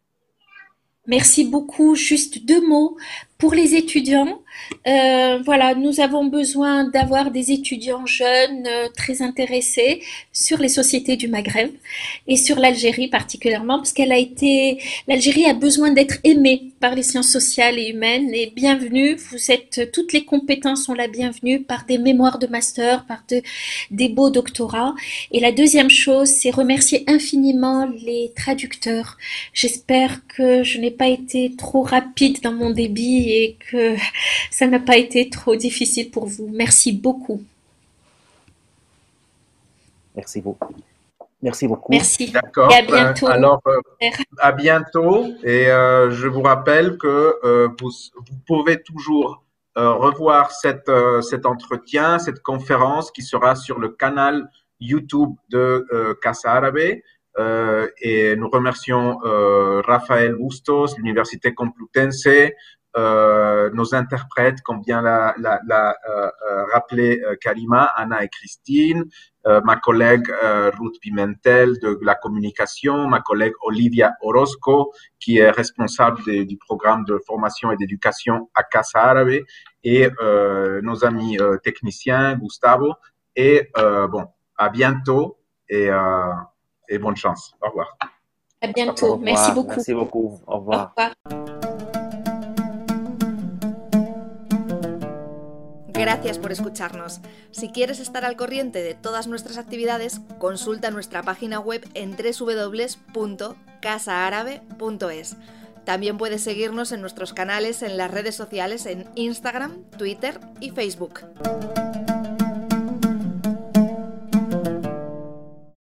Merci beaucoup. Juste deux mots pour les étudiants. Euh, voilà, nous avons besoin d'avoir des étudiants jeunes, euh, très intéressés sur les sociétés du Maghreb et sur l'Algérie particulièrement, parce qu'elle a été, l'Algérie a besoin d'être aimée par les sciences sociales et humaines. Et bienvenue, vous êtes, toutes les compétences sont la bienvenue par des mémoires de master, par de, des beaux doctorats. Et la deuxième chose, c'est remercier infiniment les traducteurs. J'espère que je n'ai pas été trop rapide dans mon débit et que ça n'a pas été trop difficile pour vous. Merci beaucoup. Merci beaucoup. Merci beaucoup. Merci. D'accord. Et à bientôt. Euh, alors, euh, à bientôt. Et euh, je vous rappelle que euh, vous, vous pouvez toujours euh, revoir cette, euh, cet entretien, cette conférence qui sera sur le canal YouTube de euh, Casa Árabe. Euh, et nous remercions euh, Rafael Bustos, l'Université Complutense, euh, nos interprètes, comme bien l'a, la, la euh, rappelé euh, Karima, Anna et Christine, euh, ma collègue euh, Ruth Pimentel de la communication, ma collègue Olivia Orozco, qui est responsable de, du programme de formation et d'éducation à Casa Árabe, et euh, nos amis euh, techniciens, Gustavo. Et euh, bon, à bientôt et, euh, et bonne chance. Au revoir. À bientôt. Au revoir. Merci beaucoup. Merci beaucoup. Au revoir. Au revoir. Gracias por escucharnos. Si quieres estar al corriente de todas nuestras actividades, consulta nuestra página web en doble u doble u doble u punto casa árabe punto es. También puedes seguirnos en nuestros canales en las redes sociales en Instagram, Twitter y Facebook.